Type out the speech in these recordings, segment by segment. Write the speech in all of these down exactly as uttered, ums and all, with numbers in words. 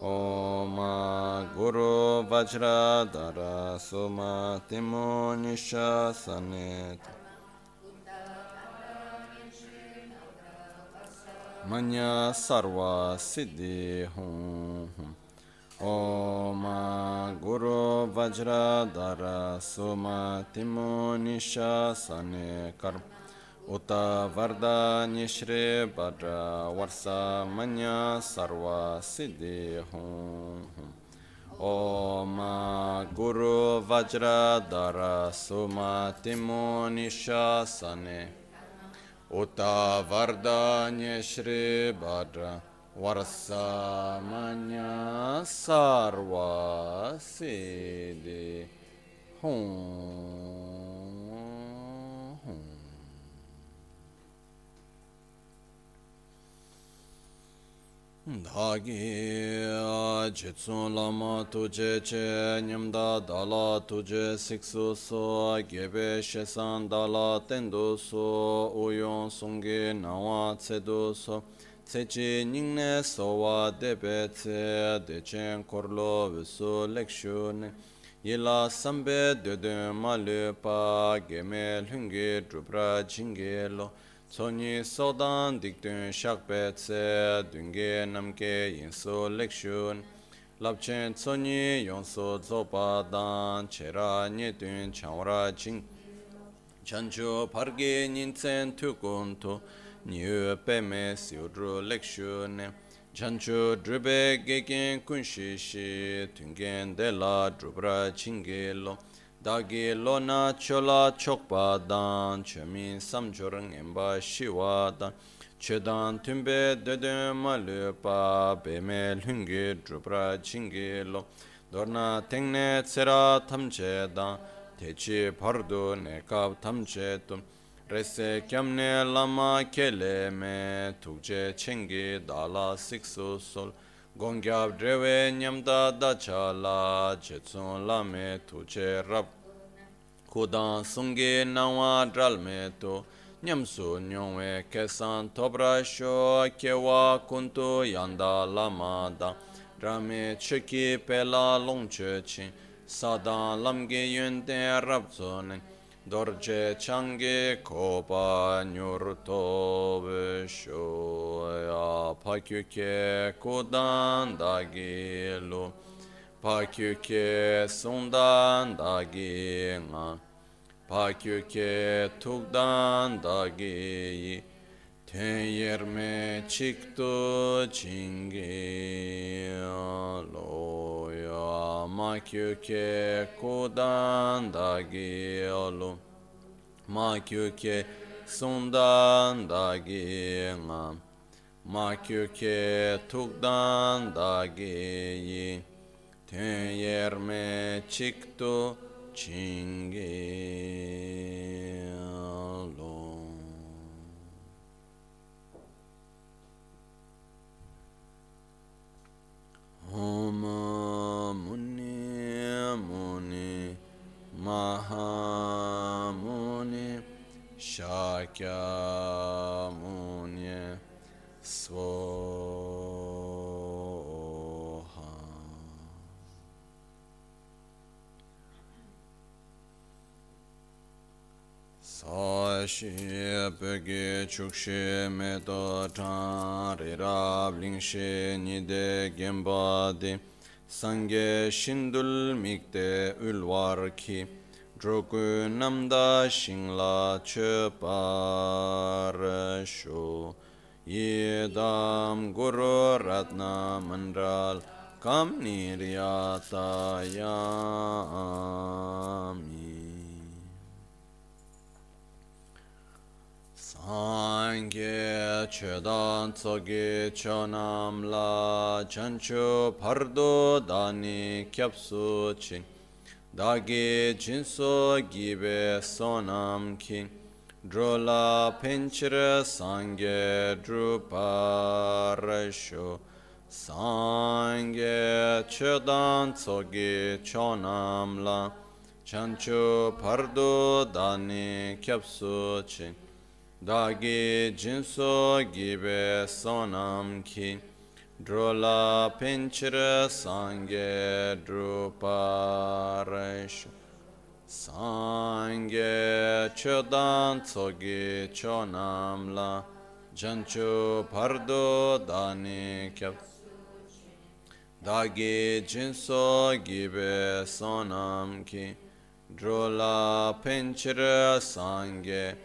Om Guru Vajradhara Sumatimo Nishasane Manya Sarva Siddhi Hum Om Guru Vajradhara Sumatimo Nishasane Karma Uta Varda Nishri Bhadra Varsa Manya Sarva Siddhi Hum Om Guru Vajradhara Sumatimo Nishasane Uta Varda Nishri Bhadra Varsa Manya Sarva Siddhi Hum Dhagi Jitsun Lama Tuje Che Nyamda Dala Tuje Siksu So Gebe Shesan Dala Tendu So Uyon Sungi Nawa Tsedu So Tsechi Ningne Sowa Debe Tse Dechen Korlo Visu Lekshune Yila Sambe Dede Malupa Geme Lungi Drupra Jingelo Soni Sodan Dikdun Shakbetse Dunge Namke Yinso Lekshun Lapchen Soni Yonso Zopa Dan Chera Nyedun Chanwara Jing Chancho Parge Ninsen Tukunto Nyu Peme Siudru Lekshun Chancho Drube Gegen Kunshishi Tungen Dela Drubra Chingelo Dagi Lona Chola Chokpa Dan Chemin Samjorang Emba Shiwa Dan Chedan Tumbe Dede Malupa Beme Lungi Drupra Chingelo Dorna Tengne Tsera Tamche Dan Techi Pardu Nekab Tamche Tum Rese Kyamne Lama Kele Me Tukje Chengi Dala Siksu Sol Gongyab Drewe Nyamda Dachala Chetsun Lame Tuche Rab Kudan Sungi Nawa Dralme To Nyamsu Nyongwe Kesan Tobra Sho Kewa Kuntu Yanda Lama Da Drame Cheki Pela Longche Chin Sadan Lamge Yunde Rabzonen Dorje Change Kopa Nyurto Veshoya Pakyuke Kudan Dagilu Pakyuke Sundan Dagi Pakyuke Tukdan Dagi Tenyerme Chikto Chingi Loya Makyuke Kudan Dagi Olu Makyuke Sundan Dagi Makyuke Tukdan Dagi Tenyerme Chikto Chingi Lo Om Muni Muni Maha Muni Shakya Muni Svoha Sashi Pege Chukshi Meto Tari Rab Lingshi Nide Gembadi Sange Shindul Mikte Ulwarki Drogu Namda Shingla Cheparasho Yedam Guru Ratna Mandral Kam Niryata Yami Sangye Chedan Tsoge Chonam La Chancho Pardo Dani Kyapsu Ching Dagi Jinso Gibe Sonam King Drola Pinchira Sangye Druparasho Sangye Chedan Tsoge Chonam La Chancho Pardo Dani Kyapsu Ching Dagi Jinso Gibe Sonam Ki Drola pinchira sangye druparesh sangye chodan tsogi chonamla jancho pardo dani kyab dagi jinso gibe sonam ki drola pinchira sangye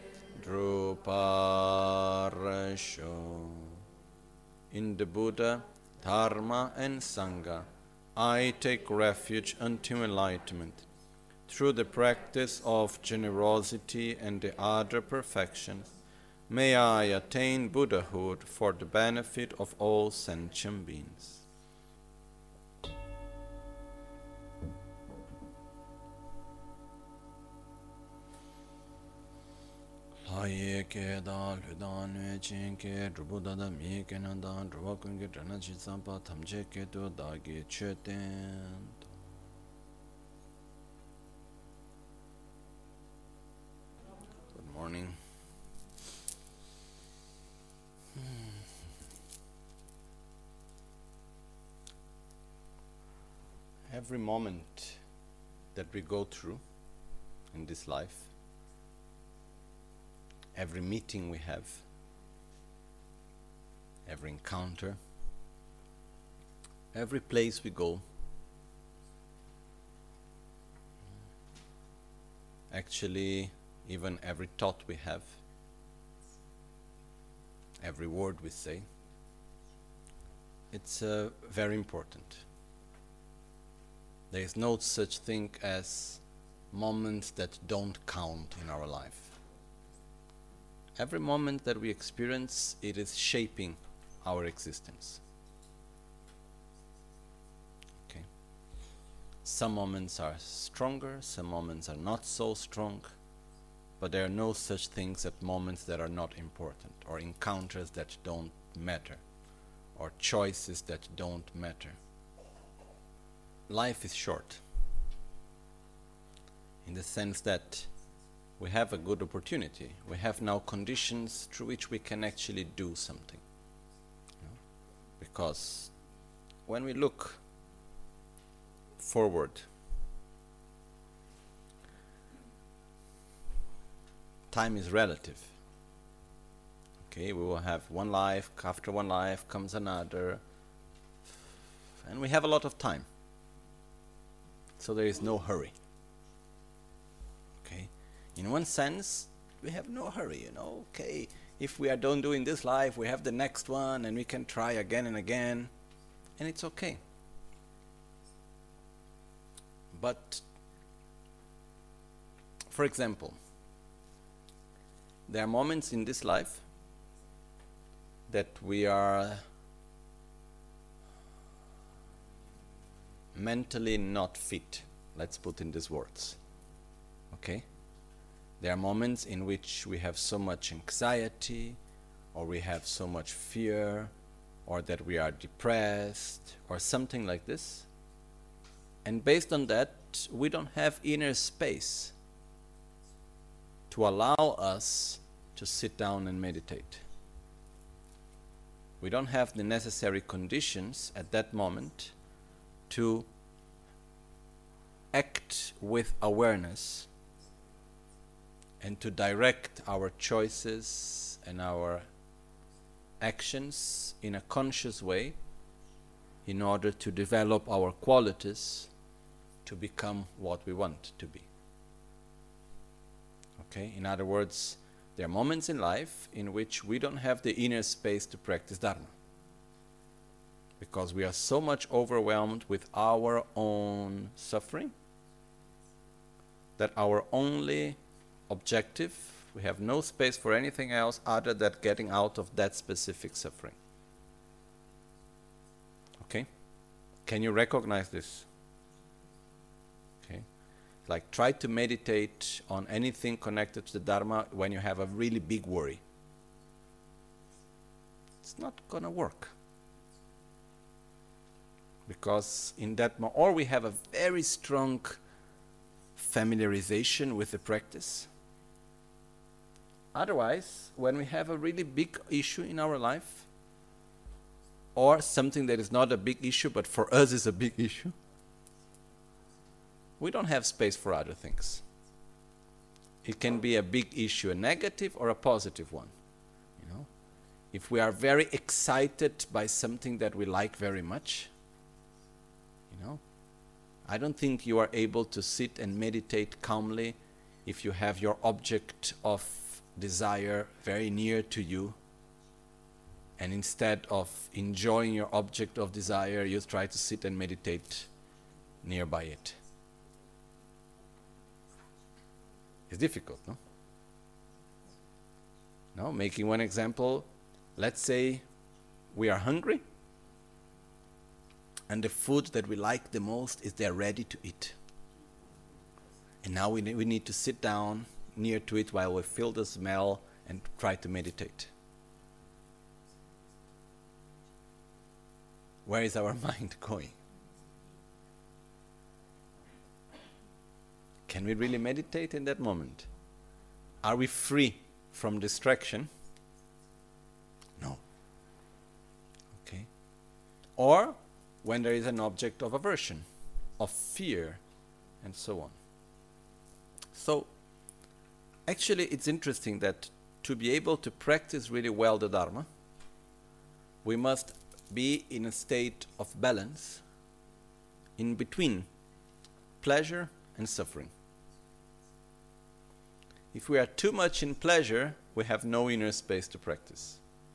druparesho. In the Buddha, Dharma and Sangha, I take refuge until enlightenment. Through the practice of generosity and the other perfections, may I attain Buddhahood for the benefit of all sentient beings. Haye ke da ludan nue chen ke drubu da da mi ke na da druba kun ke drana chi sampa tamche ke to da ge che ten. Good morning. Every moment that we go through in this life, every meeting we have, every encounter, every place we go, actually even every thought we have, every word we say, it's uh, very important. There is no such thing as moments that don't count in our life. Every moment that we experience, it is shaping our existence. Okay. Some moments are stronger, some moments are not so strong, but there are no such things as moments that are not important, or encounters that don't matter, or choices that don't matter. Life is short, in the sense that we have a good opportunity. We have now conditions through which we can actually do something. You know? Because when we look forward, time is relative. Okay, we will have one life, after one life comes another, and we have a lot of time. So there is no hurry. Okay. In one sense, we have no hurry, you know, okay, if we are done doing this life, we have the next one, and we can try again and again, and it's okay. But, for example, there are moments in this life that we are mentally not fit, let's put in these words, okay? There are moments in which we have so much anxiety, or we have so much fear, or that we are depressed, or something like this. And based on that, we don't have inner space to allow us to sit down and meditate. We don't have the necessary conditions at that moment to act with awareness and to direct our choices and our actions in a conscious way in order to develop our qualities to become what we want to be. Okay? In other words, there are moments in life in which we don't have the inner space to practice Dharma, because we are so much overwhelmed with our own suffering that our only objective, we have no space for anything else other than getting out of that specific suffering. Okay? Can you recognize this? Okay? Like, try to meditate on anything connected to the Dharma when you have a really big worry. It's not gonna work. Because in that, mo- or we have a very strong familiarization with the practice. Otherwise, when we have a really big issue in our life, or something that is not a big issue but for us is a big issue, we don't have space for other things. It can be a big issue, a negative or a positive one. You know, if we are very excited by something that we like very much, you know, I don't think you are able to sit and meditate calmly if you have your object of desire very near to you, and instead of enjoying your object of desire, you try to sit and meditate nearby it. It's difficult, no? No, making one example, let's say we are hungry, and the food that we like the most is there ready to eat. And now we, ne we need to sit down near to it while we feel the smell and try to meditate. Where is our mind going? Can we really meditate in that moment? Are we free from distraction? No. Okay. Or when there is an object of aversion, of fear, and so on. So, actually it's interesting that to be able to practice really well the Dharma, we must be in a state of balance in between pleasure and suffering. If we are too much in pleasure, we have no inner space to practice.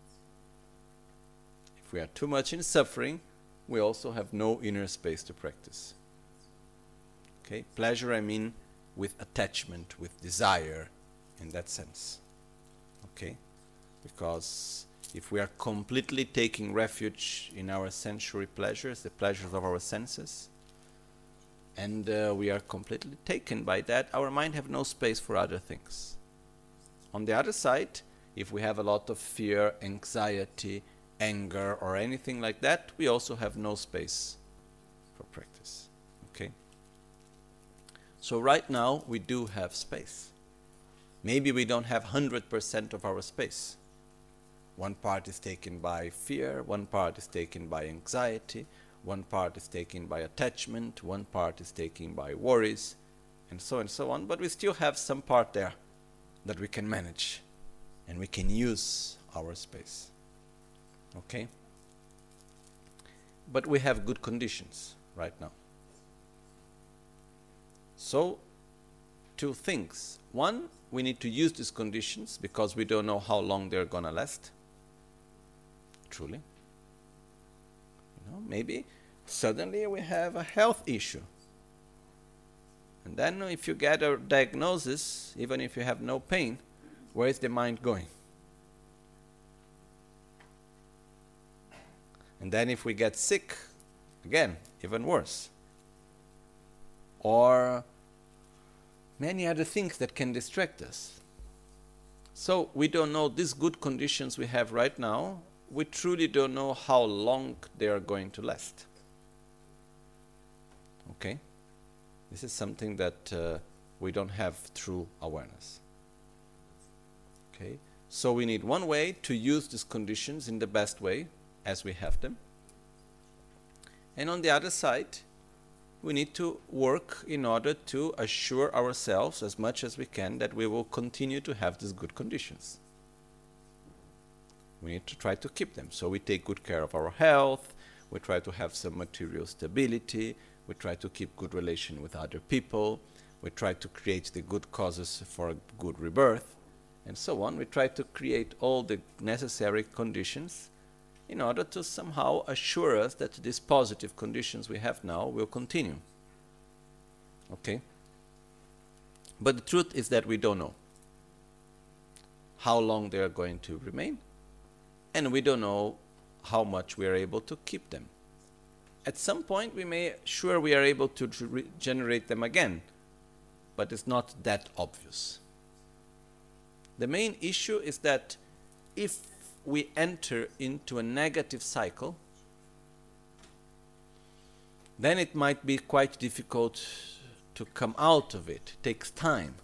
If we are too much in suffering, we also have no inner space to practice. Okay? Pleasure, I mean with attachment, with desire, in that sense. Okay? Because if we are completely taking refuge in our sensory pleasures, the pleasures of our senses, and uh, we are completely taken by that, our mind have no space for other things. On the other side, if we have a lot of fear, anxiety, anger, or anything like that, we also have no space for practice. Okay? So right now, we do have space. Maybe we don't have one hundred percent of our space. One part is taken by fear, one part is taken by anxiety, one part is taken by attachment, one part is taken by worries, and so and so on. But we still have some part there that we can manage, and we can use our space. Okay? But we have good conditions right now. So, two things. One, we need to use these conditions because we don't know how long they're gonna last. Truly. You know, maybe suddenly we have a health issue. And then if you get a diagnosis, even if you have no pain, where is the mind going? And then if we get sick, again, even worse. Or many other things that can distract us. So we don't know these good conditions we have right now, we truly don't know how long they are going to last. Okay? This is something that uh, we don't have through awareness. Okay? So we need one way to use these conditions in the best way, as we have them. And on the other side, we need to work in order to assure ourselves as much as we can that we will continue to have these good conditions. We need to try to keep them. So we take good care of our health, we try to have some material stability, we try to keep good relation with other people, we try to create the good causes for a good rebirth, and so on. We try to create all the necessary conditions in order to somehow assure us that these positive conditions we have now will continue. Okay? But the truth is that we don't know how long they are going to remain, and we don't know how much we are able to keep them. At some point we may sure we are able to regenerate them again, but it's not that obvious. The main issue is that if we enter into a negative cycle, then it might be quite difficult to come out of it. It takes time.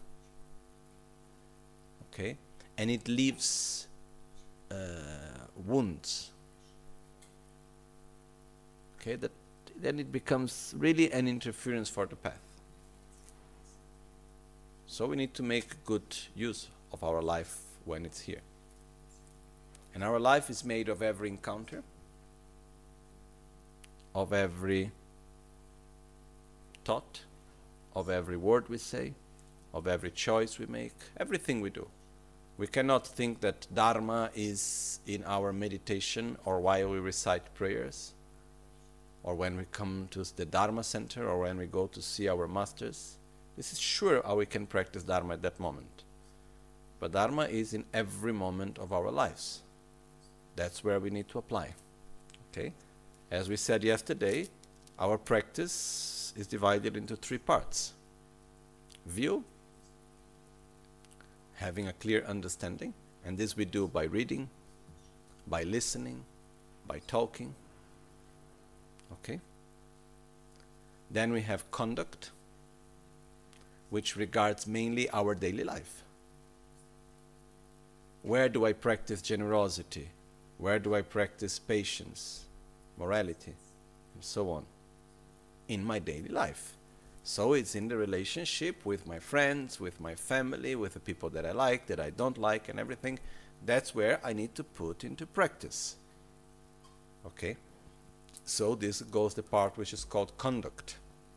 Okay? And it leaves uh, wounds. okay, that then it becomes really an interference for the path. So we need to make good use of our life when it's here. And our life is made of every encounter, of every thought, of every word we say, of every choice we make, everything we do. We cannot think that Dharma is in our meditation or while we recite prayers, or when we come to the Dharma center, or when we go to see our masters. This is sure how we can practice Dharma at that moment. But Dharma is in every moment of our lives. That's where we need to apply. Okay? As we said yesterday, our practice is divided into three parts. View, having a clear understanding, and this we do by reading, by listening, by talking. Okay? Then we have conduct, which regards mainly our daily life. Where do I practice generosity? Where do I practice patience, morality, and so on? In my daily life. So it's in the relationship with my friends, with my family, with the people that I like, that I don't like, and everything. That's where I need to put into practice. Okay? So this goes the part which is called conduct.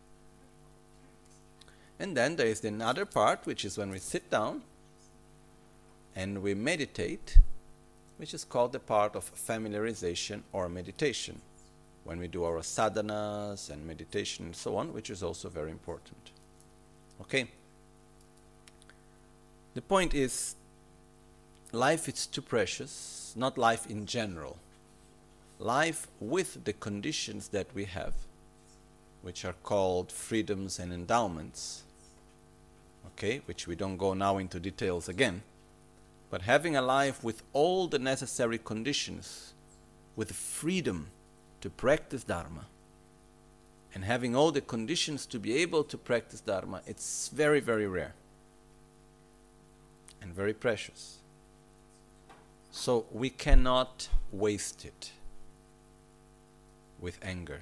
And then there is the another part, which is when we sit down and we meditate, which is called the part of familiarization or meditation, when we do our sadhanas and meditation and so on, which is also very important. Okay? The point is, life is too precious, not life in general. Life with the conditions that we have, which are called freedoms and endowments, okay, which we don't go now into details again, but having a life with all the necessary conditions, with freedom to practice Dharma, and having all the conditions to be able to practice Dharma, it's very, very rare and very precious. So we cannot waste it with anger.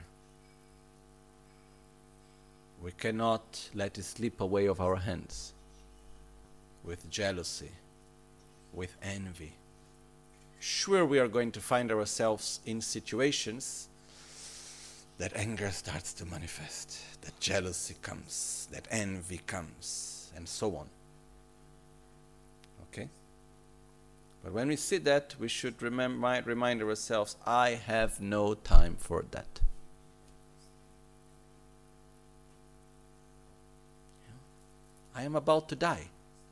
We cannot let it slip away of our hands with jealousy, with envy. Sure, we are going to find ourselves in situations that anger starts to manifest, that jealousy comes, that envy comes, and so on. Okay? But when we see that, we should remem- remind ourselves, I have no time for that. I am about to die.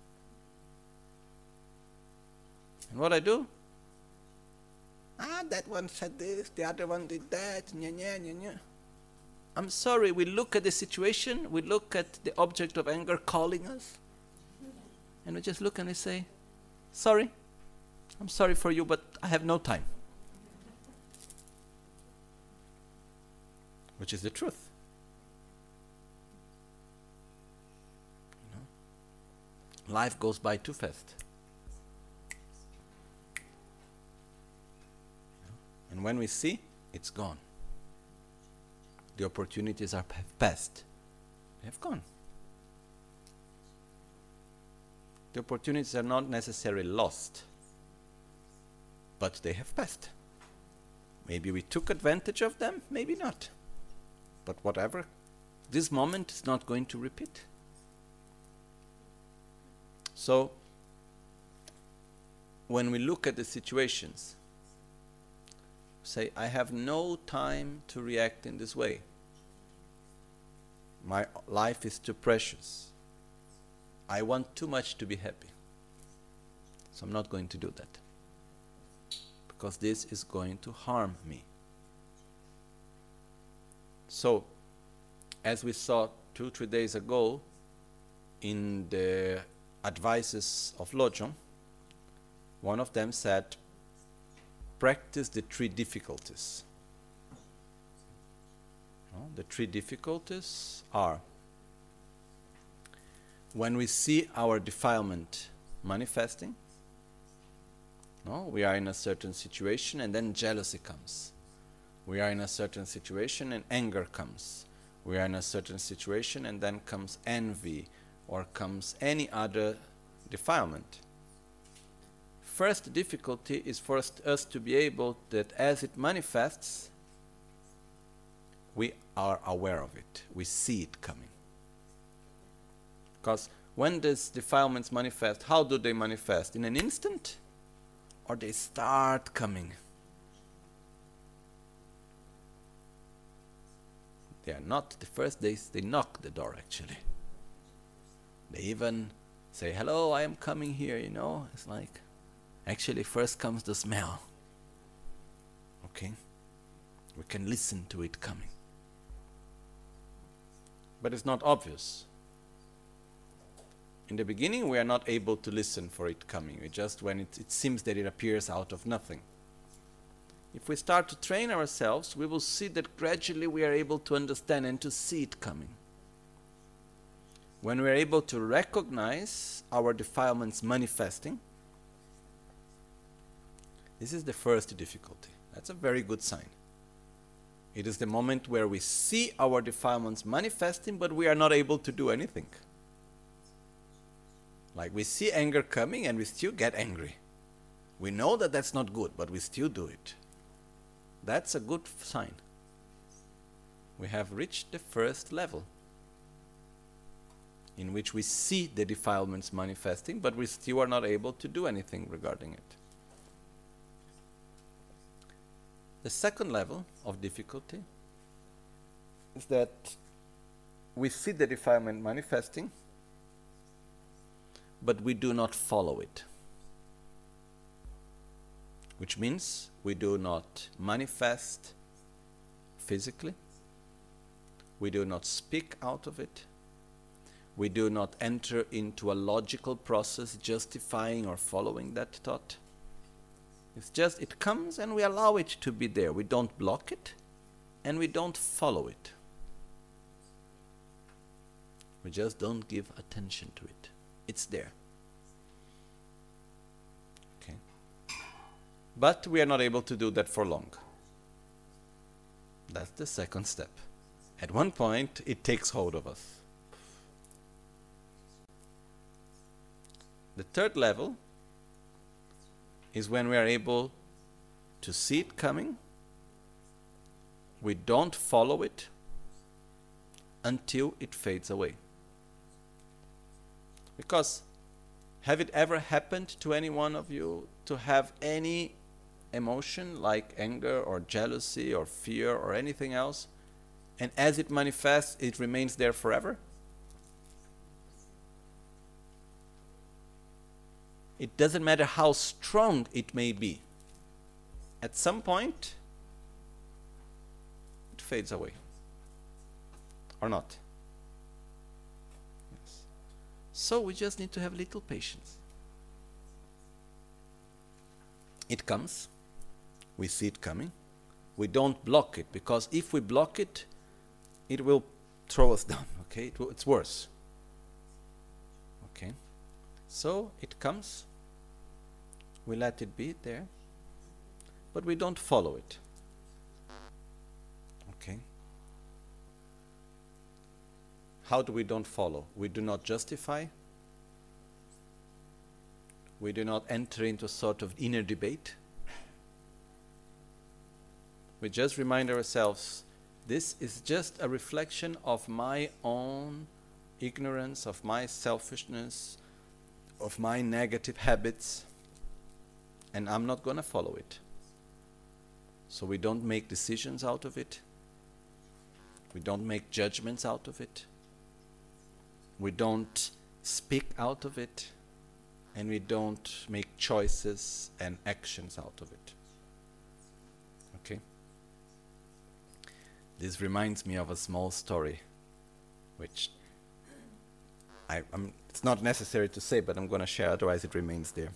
And what I do? Ah, that one said this, the other one did that, nya, nya, nya, nya. I'm sorry, we look at the situation, we look at the object of anger calling us, and we just look and we say, sorry, I'm sorry for you, but I have no time. Which is the truth. You know? Life goes by too fast. And when we see, it's gone. The opportunities are past. They have gone. The opportunities are not necessarily lost, but they have passed. Maybe we took advantage of them, maybe not. But whatever, this moment is not going to repeat. So, when we look at the situations, say, I have no time to react in this way. My life is too precious. I want too much to be happy. So I'm not going to do that. Because this is going to harm me. So, as we saw two, three days ago in the advices of Lojong, one of them said, practice the three difficulties. No? The three difficulties are when we see our defilement manifesting, no? We are in a certain situation and then jealousy comes. We are in a certain situation and anger comes. We are in a certain situation and then comes envy or comes any other defilement. First difficulty is for us to be able that as it manifests, we are aware of it. We see it coming. Because when these defilements manifest, how do they manifest? In an instant? Or they start coming? They are not the first days, they knock the door actually. They even say, hello, I am coming here, you know. It's like, actually first comes the smell. Okay? We can listen to it coming. But it's not obvious. In the beginning we are not able to listen for it coming. We just when it, it seems that it appears out of nothing. If we start to train ourselves, we will see that gradually we are able to understand and to see it coming. When we are able to recognize our defilements manifesting, this is the first difficulty. That's a very good sign. It is the moment where we see our defilements manifesting, but we are not able to do anything. Like we see anger coming and we still get angry. We know that that's not good, but we still do it. That's a good sign. We have reached the first level in which we see the defilements manifesting, but we still are not able to do anything regarding it. The second level of difficulty is that we see the defilement manifesting, but we do not follow it. Which means we do not manifest physically, we do not speak out of it, we do not enter into a logical process justifying or following that thought. It's just, it comes and we allow it to be there. We don't block it and we don't follow it. We just don't give attention to it. It's there. Okay. But we are not able to do that for long. That's the second step. At one point, it takes hold of us. The third level is when we are able to see it coming, we don't follow it until it fades away. Because have it ever happened to any one of you to have any emotion like anger or jealousy or fear or anything else, and as it manifests, it remains there forever? It doesn't matter how strong it may be. At some point, it fades away. Or not. Yes. So we just need to have little patience. It comes. We see it coming. We don't block it, because if we block it, it will throw us down. Okay, it will, it's worse. Okay. So it comes. We let it be there, but we don't follow it. Okay. How do we don't follow? We do not justify. We do not enter into a sort of inner debate. We just remind ourselves, this is just a reflection of my own ignorance, of my selfishness, of my negative habits. And I'm not going to follow it. So we don't make decisions out of it. We don't make judgments out of it. We don't speak out of it. And we don't make choices and actions out of it. Okay? This reminds me of a small story, which I, I'm, it's not necessary to say, but I'm going to share, otherwise it remains there.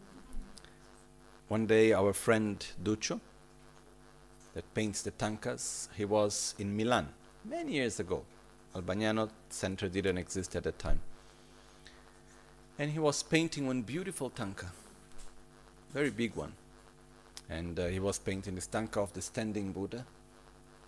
One day our friend Duccio, that paints the tankas, he was in Milan many years ago. Albagnano Center didn't exist at that time. And he was painting one beautiful tanka, very big one. And uh, he was painting this tanka of the standing Buddha.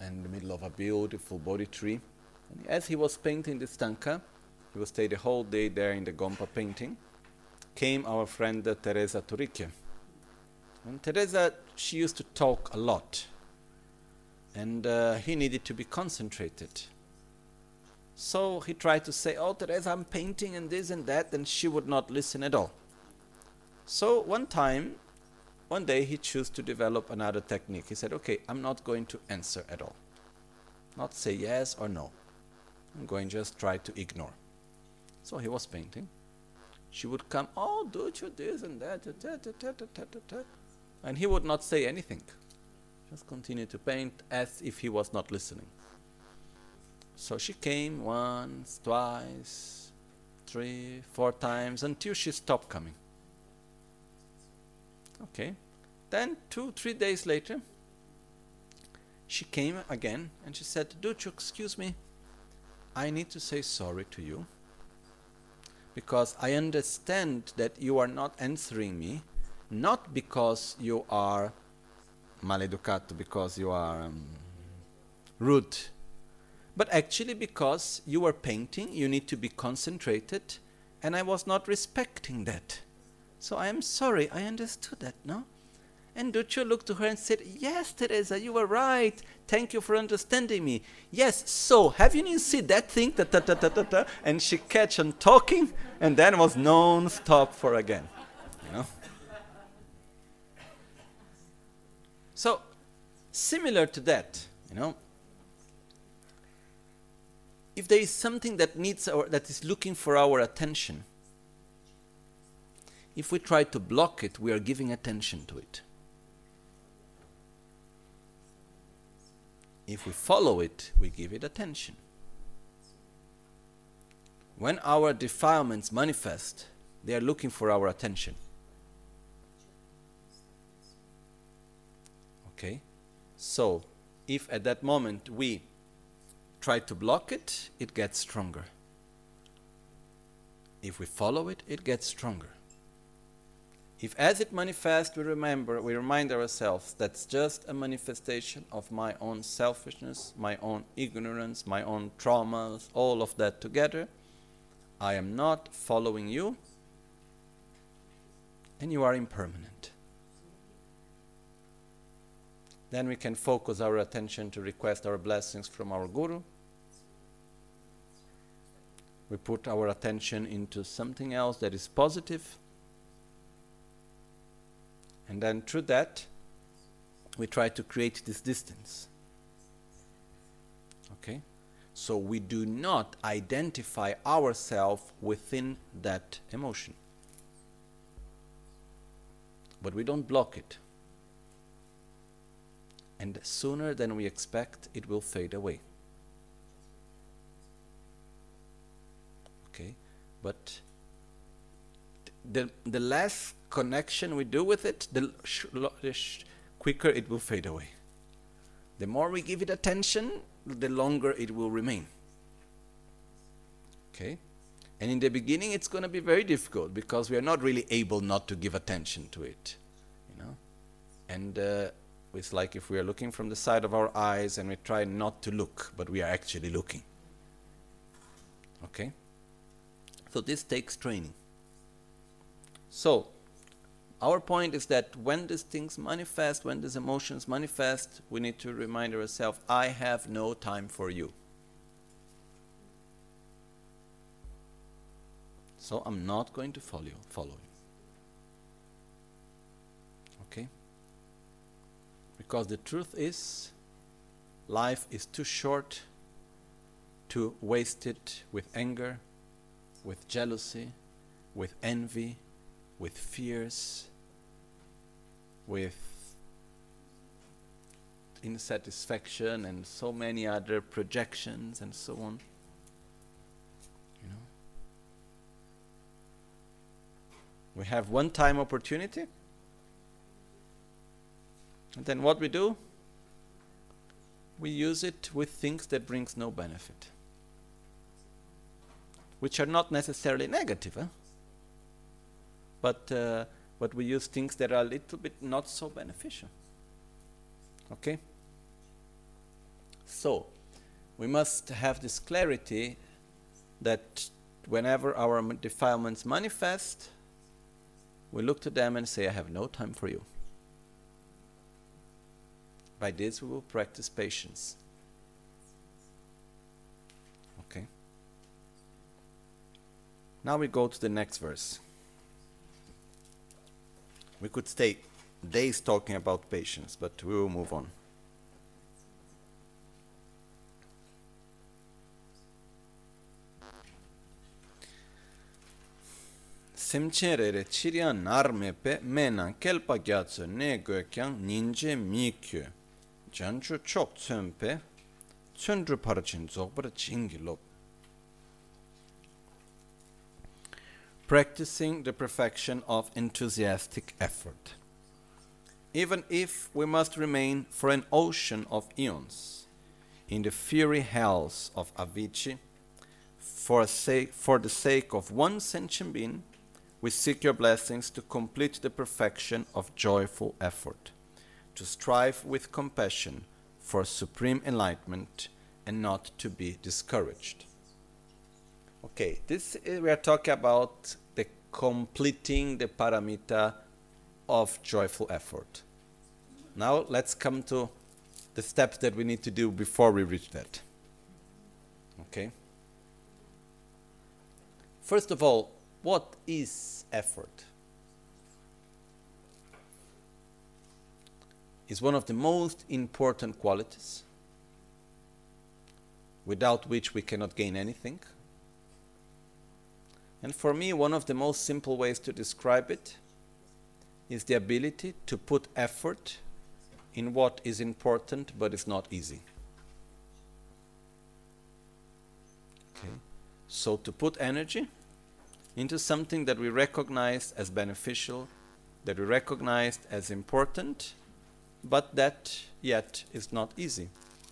in the middle of a beautiful Bodhi tree. And as he was painting this tanka, he would stay the whole day there in the Gompa painting, came our friend uh, Teresa Turicchia. And Teresa, she used to talk a lot. And uh, he needed to be concentrated. So he tried to say, oh, Teresa, I'm painting and this and that, and she would not listen at all. So one time, one day he chose to develop another technique. He said, okay, I'm not going to answer at all. Not say yes or no. I'm going to just try to ignore. So he was painting. She would come, oh, do you this and that, da, da, da, da, da, da. And he would not say anything. Just continue to paint as if he was not listening. So she came once, twice, three, four times, until she stopped coming. Okay. Then two, three days later, she came again and she said, Duccio, excuse me, I need to say sorry to you because I understand that you are not answering me, not because you are maleducato, because you are um, rude, but actually because you are painting, you need to be concentrated, and I was not respecting that. So I am sorry, I understood that, no? And Duccio looked to her and said, yes, Teresa, you were right. Thank you for understanding me. Yes, so, have you seen that thing? Ta, ta, ta, ta, ta, ta. And she kept on talking, and then was non-stop for again. You know? So, similar to that, you know, if there is something that needs our, that is looking for our attention, if we try to block it, we are giving attention to it. If we follow it, we give it attention. When our defilements manifest, they are looking for our attention. Okay? So, if at that moment we try to block it, it gets stronger. If we follow it, it gets stronger. If as it manifests, we remember, we remind ourselves that's just a manifestation of my own selfishness, my own ignorance, my own traumas, all of that together, I am not following you, and you are impermanent. Then we can focus our attention to request our blessings from our Guru. We put our attention into something else that is positive. And then through that, we try to create this distance. Okay? So we do not identify ourselves within that emotion. But we don't block it. And sooner than we expect, it will fade away. Okay? But the, the less connection we do with it, the, sh the sh quicker it will fade away. The more we give it attention, the longer it will remain. Okay? And in the beginning it's going to be very difficult because we are not really able not to give attention to it. You know? And uh, it's like if we are looking from the side of our eyes and we try not to look, but we are actually looking. Okay? So this takes training. So, our point is that when these things manifest, when these emotions manifest, we need to remind ourselves, I have no time for you. So I'm not going to follow you. Follow you. Okay? Because the truth is, life is too short to waste it with anger, with jealousy, with envy, with fears, with insatisfaction and so many other projections and so on. You know? We have one-time opportunity, and then what we do? We use it with things that brings no benefit, which are not necessarily negative, huh? But uh, but we use things that are a little bit not so beneficial. Okay? So, we must have this clarity that whenever our defilements manifest, we look to them and say, I have no time for you. By this we will practice patience. Okay. Now we go to the next verse. We could stay days talking about patience, but we will move on. Semcherere chirian narmepe menan kelpa gyatso ne gökyan ninje mikyo janchu chok tsönpe tsöndru parachin zogbara chingilop. Practicing the perfection of enthusiastic effort. Even if we must remain for an ocean of eons in the fiery hells of Avicii, for, sake, for the sake of one sentient being, we seek your blessings to complete the perfection of joyful effort, to strive with compassion for supreme enlightenment and not to be discouraged. Okay, this is, we are talking about the completing the paramita of joyful effort. Now let's come to the steps that we need to do before we reach that. Okay? First of all, what is effort? It's one of the most important qualities, without which we cannot gain anything. And for me, one of the most simple ways to describe it is the ability to put effort in what is important but is not easy. Okay. So to put energy into something that we recognize as beneficial, that we recognize as important, but that yet is not easy.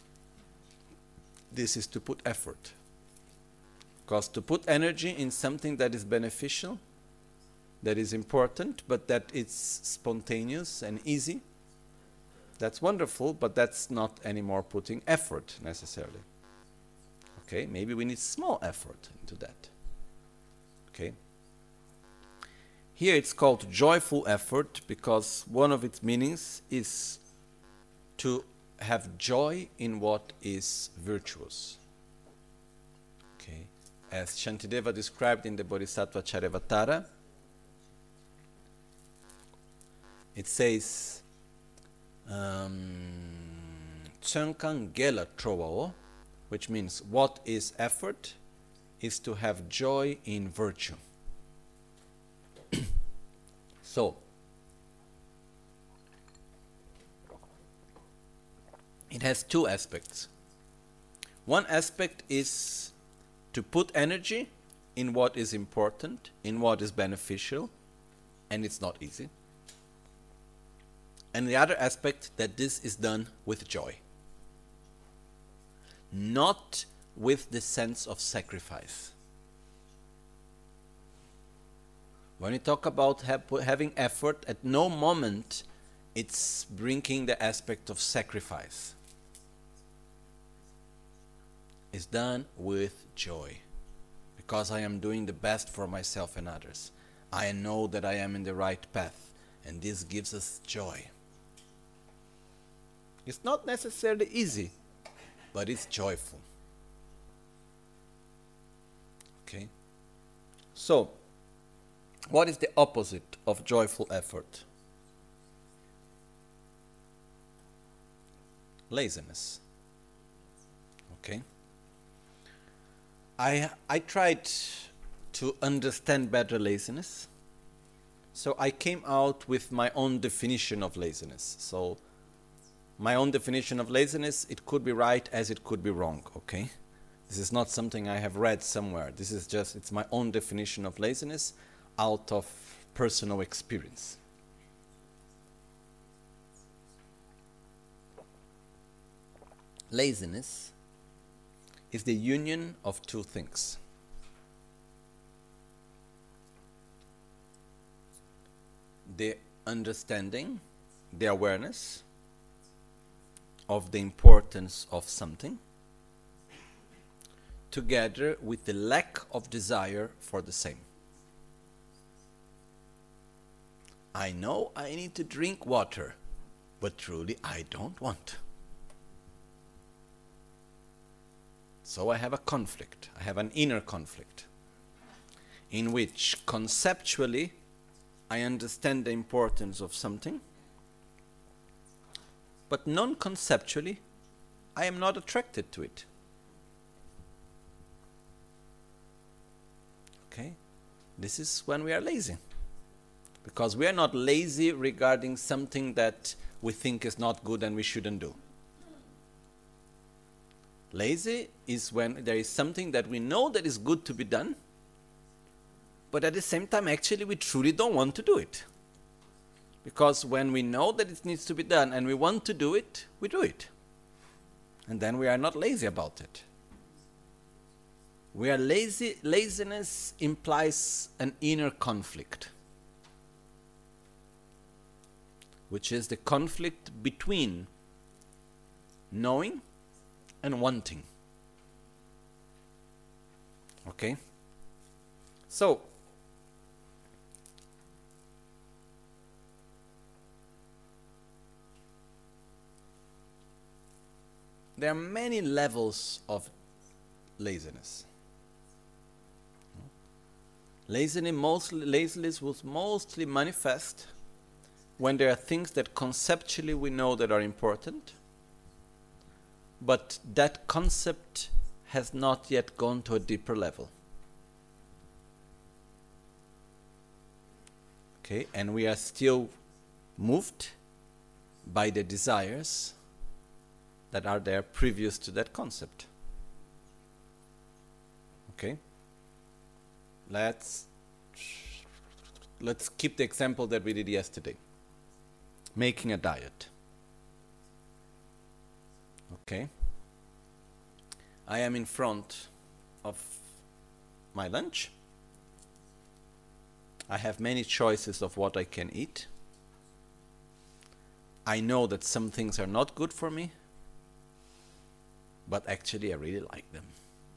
This is to put effort. Because to put energy in something that is beneficial, that is important, but that it's spontaneous and easy, that's wonderful, but that's not anymore putting effort necessarily. Okay, maybe we need small effort into that. Okay. Here it's called joyful effort because one of its meanings is to have joy in what is virtuous. Okay. As Shantideva described in the Bodhisattva Charyavatara, it says, Tsönkan gela trovao, which means what is effort is to have joy in virtue. So, it has two aspects. One aspect is to put energy in what is important, in what is beneficial, and it's not easy. And the other aspect, that this is done with joy, not with the sense of sacrifice. When we talk about ha having effort, at no moment it's bringing the aspect of sacrifice. It's done with joy, because I am doing the best for myself and others. I know that I am in the right path, and this gives us joy. It's not necessarily easy, but it's joyful. Okay? So, what is the opposite of joyful effort? Laziness. Okay? I, I tried to understand better laziness, so I came out with my own definition of laziness. So, my own definition of laziness, it could be right as it could be wrong, okay? This is not something I have read somewhere. This is just, it's my own definition of laziness out of personal experience. Laziness is the union of two things. The understanding, the awareness of the importance of something together with the lack of desire for the same. I know I need to drink water, but truly I don't want. So I have a conflict, I have an inner conflict, in which conceptually I understand the importance of something, but non-conceptually I am not attracted to it. Okay? This is when we are lazy. Because we are not lazy regarding something that we think is not good and we shouldn't do. Lazy is when there is something that we know that is good to be done, but at the same time actually we truly don't want to do it. Because when we know that it needs to be done and we want to do it, we do it. And then we are not lazy about it. We are lazy. Laziness implies an inner conflict, which is the conflict between knowing and wanting. Okay? So, there are many levels of laziness. Laziness mostly, laziness will mostly manifest when there are things that conceptually we know that are important, but that concept has not yet gone to a deeper level. Okay, and we are still moved by the desires that are there previous to that concept. Okay? Let's let's keep the example that we did yesterday. Making a diet. Okay? I am in front of my lunch. I have many choices of what I can eat. I know that some things are not good for me, but actually I really like them.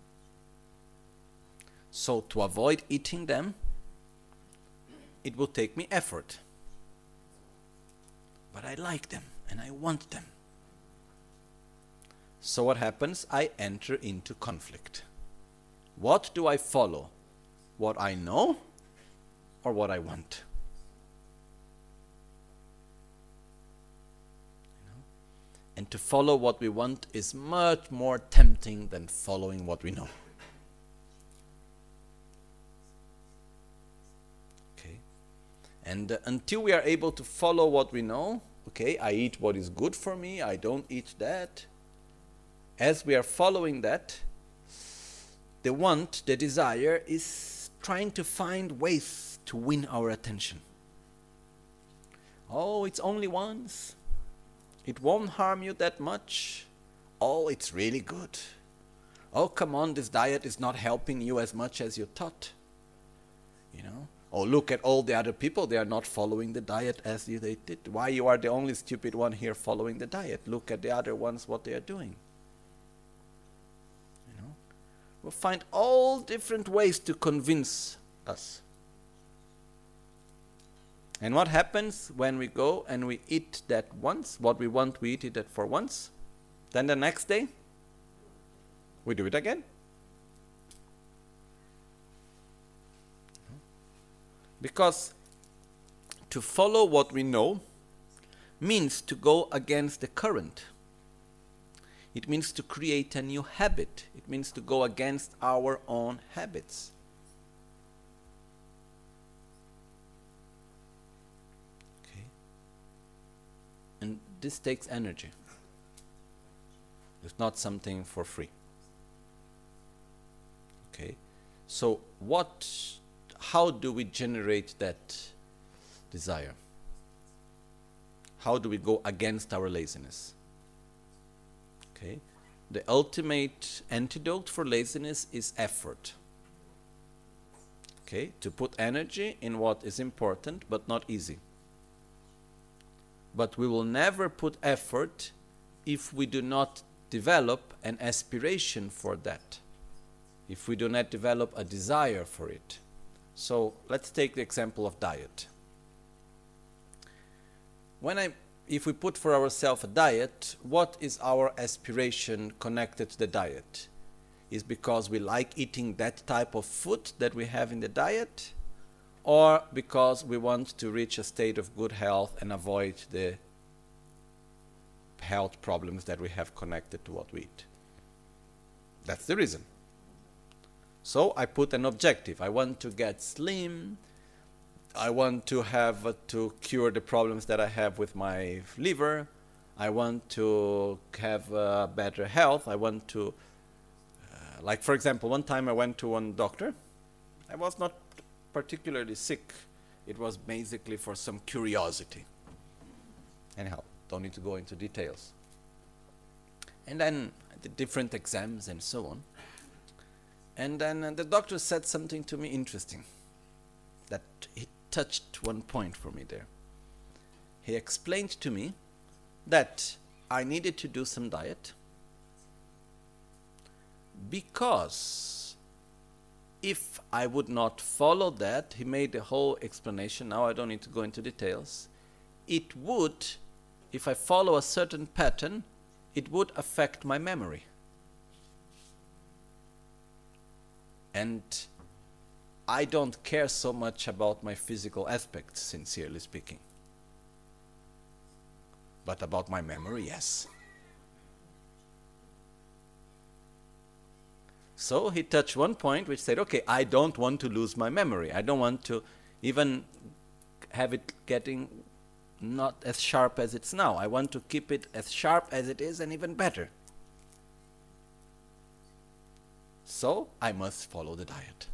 So to avoid eating them, it will take me effort. But I like them and I want them. So what happens? I enter into conflict. What do I follow? What I know or what I want? You know? And to follow what we want is much more tempting than following what we know. Okay? And uh, until we are able to follow what we know, okay, I eat what is good for me, I don't eat that. As we are following that, the want, the desire, is trying to find ways to win our attention. Oh, it's only once. It won't harm you that much. Oh, it's really good. Oh, come on, this diet is not helping you as much as you thought. You know? Oh, look at all the other people. They are not following the diet as you they did. Why you are the only stupid one here following the diet? Look at the other ones, what they are doing. We'll find all different ways to convince us. And what happens when we go and we eat that once? What we want, we eat it for once. Then the next day, we do it again. Because to follow what we know means to go against the current. It means to create a new habit. It means to go against our own habits. Okay. And this takes energy. It's not something for free. Okay. So what, how do we generate that desire? How do we go against our laziness? Okay. The ultimate antidote for laziness is effort. Okay, to put energy in what is important but not easy. But we will never put effort if we do not develop an aspiration for that, if we do not develop a desire for it. So let's take the example of diet. When I, if we put for ourselves a diet, what is our aspiration connected to the diet? Is because we like eating that type of food that we have in the diet, or because we want to reach a state of good health and avoid the health problems that we have connected to what we eat? That's the reason. So I put an objective. I want to get slim. I want to have uh, to cure the problems that I have with my liver. I want to have uh, better health. I want to, uh, like for example, one time I went to one doctor. I was not particularly sick. It was basically for some curiosity. Anyhow, don't need to go into details. And then I did different exams and so on. And then uh, the doctor said something to me interesting, that he touched one point for me there. He explained to me that I needed to do some diet because if I would not follow that, he made a whole explanation, now I don't need to go into details, it would, if I follow a certain pattern, it would affect my memory. And I don't care so much about my physical aspects, sincerely speaking. But about my memory, yes. So he touched one point which said, okay, I don't want to lose my memory. I don't want to even have it getting not as sharp as it's now. I want to keep it as sharp as it is and even better. So I must follow the diet.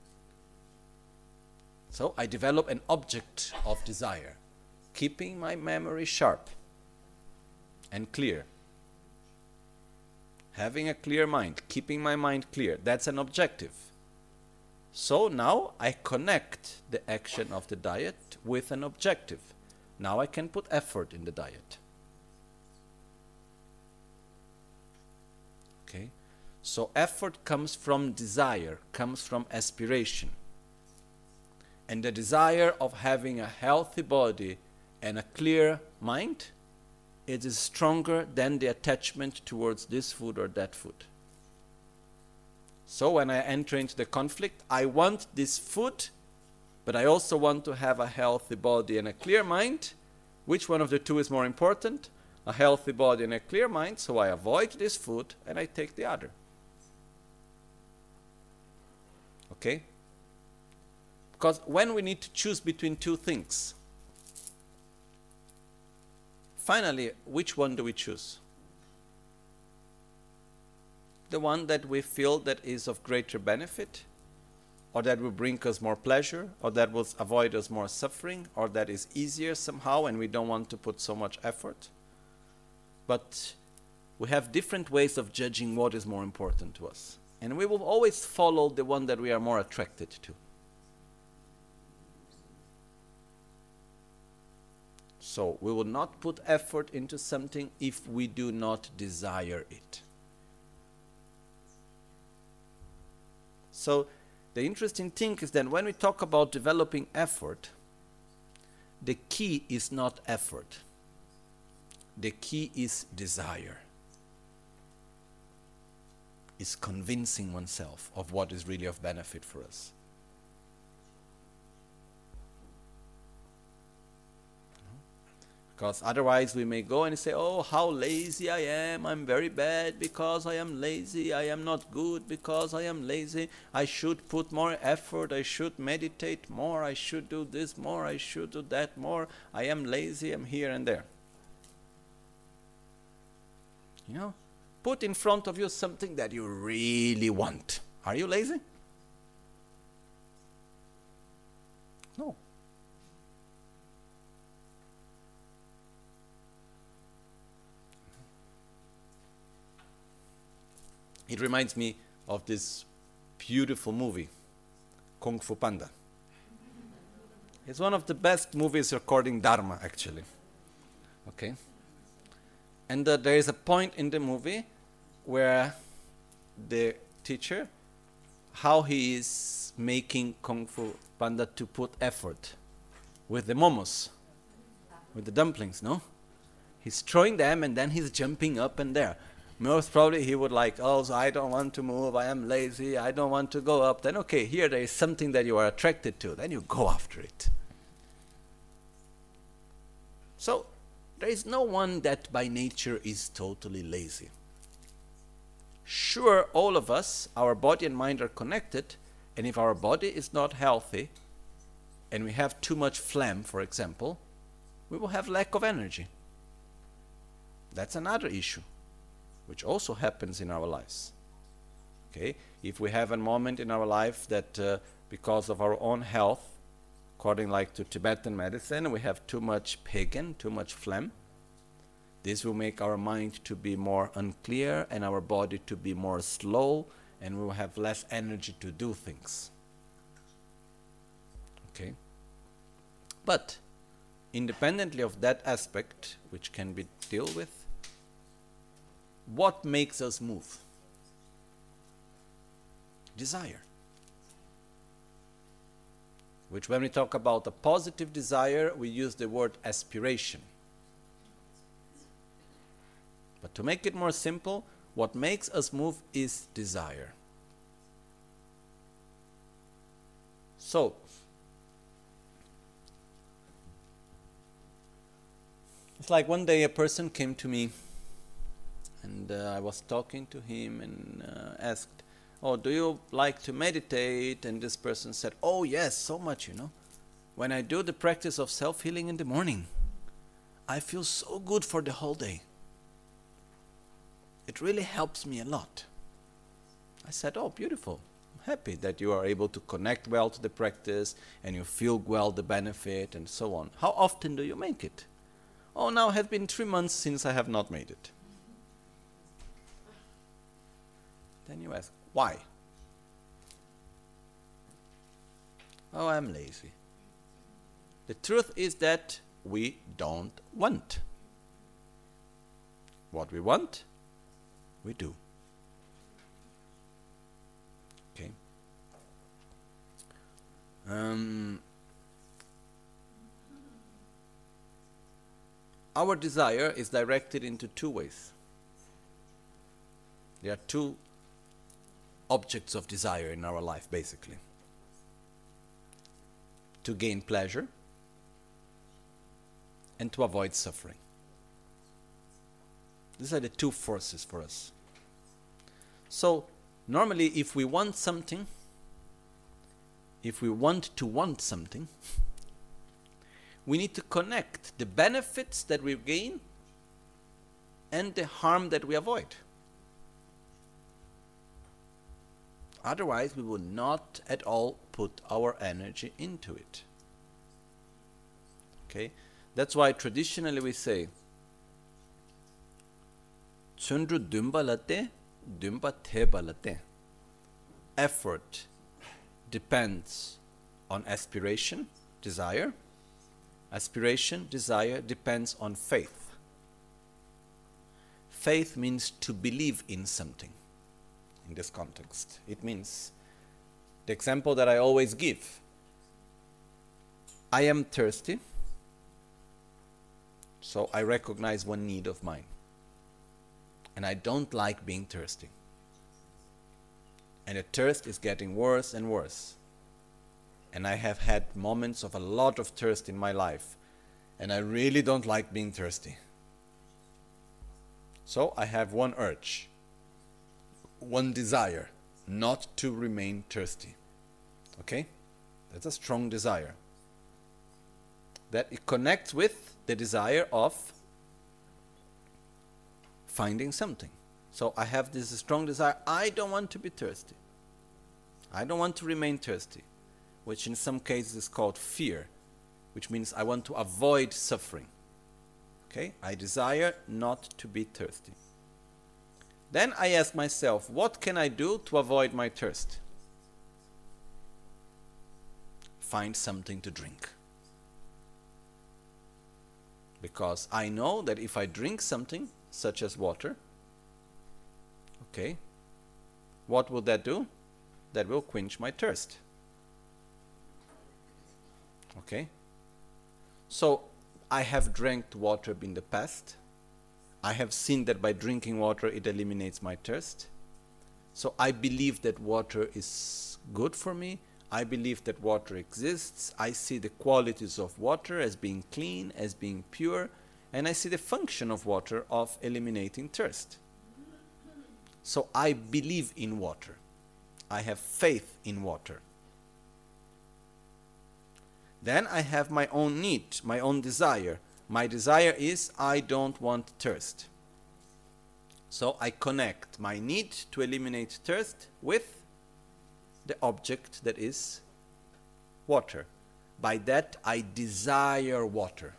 So I develop an object of desire, keeping my memory sharp and clear. Having a clear mind, keeping my mind clear, that's an objective. So now I connect the action of the diet with an objective. Now I can put effort in the diet. Okay? So effort comes from desire, comes from aspiration. And the desire of having a healthy body and a clear mind, it is stronger than the attachment towards this food or that food. So when I enter into the conflict, I want this food, but I also want to have a healthy body and a clear mind. Which one of the two is more important? A healthy body and a clear mind, so I avoid this food and I take the other. Okay? Because when we need to choose between two things, finally, which one do we choose? The one that we feel that is of greater benefit, or that will bring us more pleasure, or that will avoid us more suffering, or that is easier somehow and we don't want to put so much effort. But we have different ways of judging what is more important to us. And we will always follow the one that we are more attracted to. So we will not put effort into something if we do not desire it. So the interesting thing is that when we talk about developing effort, the key is not effort. The key is desire. Is convincing oneself of what is really of benefit for us. Because otherwise we may go and say, oh, how lazy I am, I'm very bad because I am lazy, I am not good because I am lazy, I should put more effort, I should meditate more, I should do this more, I should do that more, I am lazy, I'm here and there. You know, put in front of you something that you really want. Are you lazy? No. It reminds me of this beautiful movie, Kung Fu Panda. It's one of the best movies recording Dharma, actually. Okay? And uh, there is a point in the movie where the teacher, how he is making Kung Fu Panda to put effort with the momos, with the dumplings, no? He's throwing them and then he's jumping up and there. Most probably he would like, oh, so I don't want to move, I am lazy, I don't want to go up. Then okay, here there is something that you are attracted to, then you go after it. So, there is no one that by nature is totally lazy. Sure, all of us, our body and mind are connected, and if our body is not healthy, and we have too much phlegm, for example, we will have lack of energy. That's another issue, which also happens in our lives. Okay, if we have a moment in our life that uh, because of our own health, according like to Tibetan medicine, we have too much pagan, too much phlegm. This will make our mind to be more unclear and our body to be more slow, and we will have less energy to do things. Okay? But independently of that aspect, which can be dealt with, what makes us move? Desire. Which when we talk about a positive desire, we use the word aspiration. But to make it more simple, what makes us move is desire. So, it's like one day a person came to me and uh, I was talking to him and uh, asked, oh, do you like to meditate? And this person said, oh yes, so much, you know. When I do the practice of self-healing in the morning, I feel so good for the whole day. It really helps me a lot. I said, oh, beautiful. I'm happy that you are able to connect well to the practice and you feel well the benefit and so on. How often do you make it? Oh, now it has been three months since I have not made it. Then you ask, why? Oh, I'm lazy. The truth is that we don't want. What we want, we do. Okay. Um, our desire is directed into two ways. There are two objects of desire in our life, basically. To gain pleasure and to avoid suffering. These are the two forces for us. So, normally if we want something, if we want to want something, we need to connect the benefits that we gain and the harm that we avoid. Otherwise, we will not at all put our energy into it. Okay? That's why traditionally we say, Chundru dumbalate, dumba tebalate. Effort depends on aspiration, desire. Aspiration, desire depends on faith. Faith means to believe in something. In this context, it means the example that I always give. I am thirsty, so I recognize one need of mine. And I don't like being thirsty. And the thirst is getting worse and worse. And I have had moments of a lot of thirst in my life. And I really don't like being thirsty. So I have one urge. One desire, not to remain thirsty. Okay? That's a strong desire. That it connects with the desire of finding something. So I have this strong desire, I don't want to be thirsty. I don't want to remain thirsty, which in some cases is called fear, which means I want to avoid suffering. Okay? I desire not to be thirsty. Then I ask myself, what can I do to avoid my thirst? Find something to drink. Because I know that if I drink something, such as water. Okay. What will that do? That will quench my thirst. Okay. So I have drank water in the past. I have seen that by drinking water it eliminates my thirst. So I believe that water is good for me. I believe that water exists. I see the qualities of water as being clean, as being pure, and I see the function of water of eliminating thirst. So I believe in water. I have faith in water. Then I have my own need, my own desire. My desire is I don't want thirst. So I connect my need to eliminate thirst with the object that is water. By that I desire water.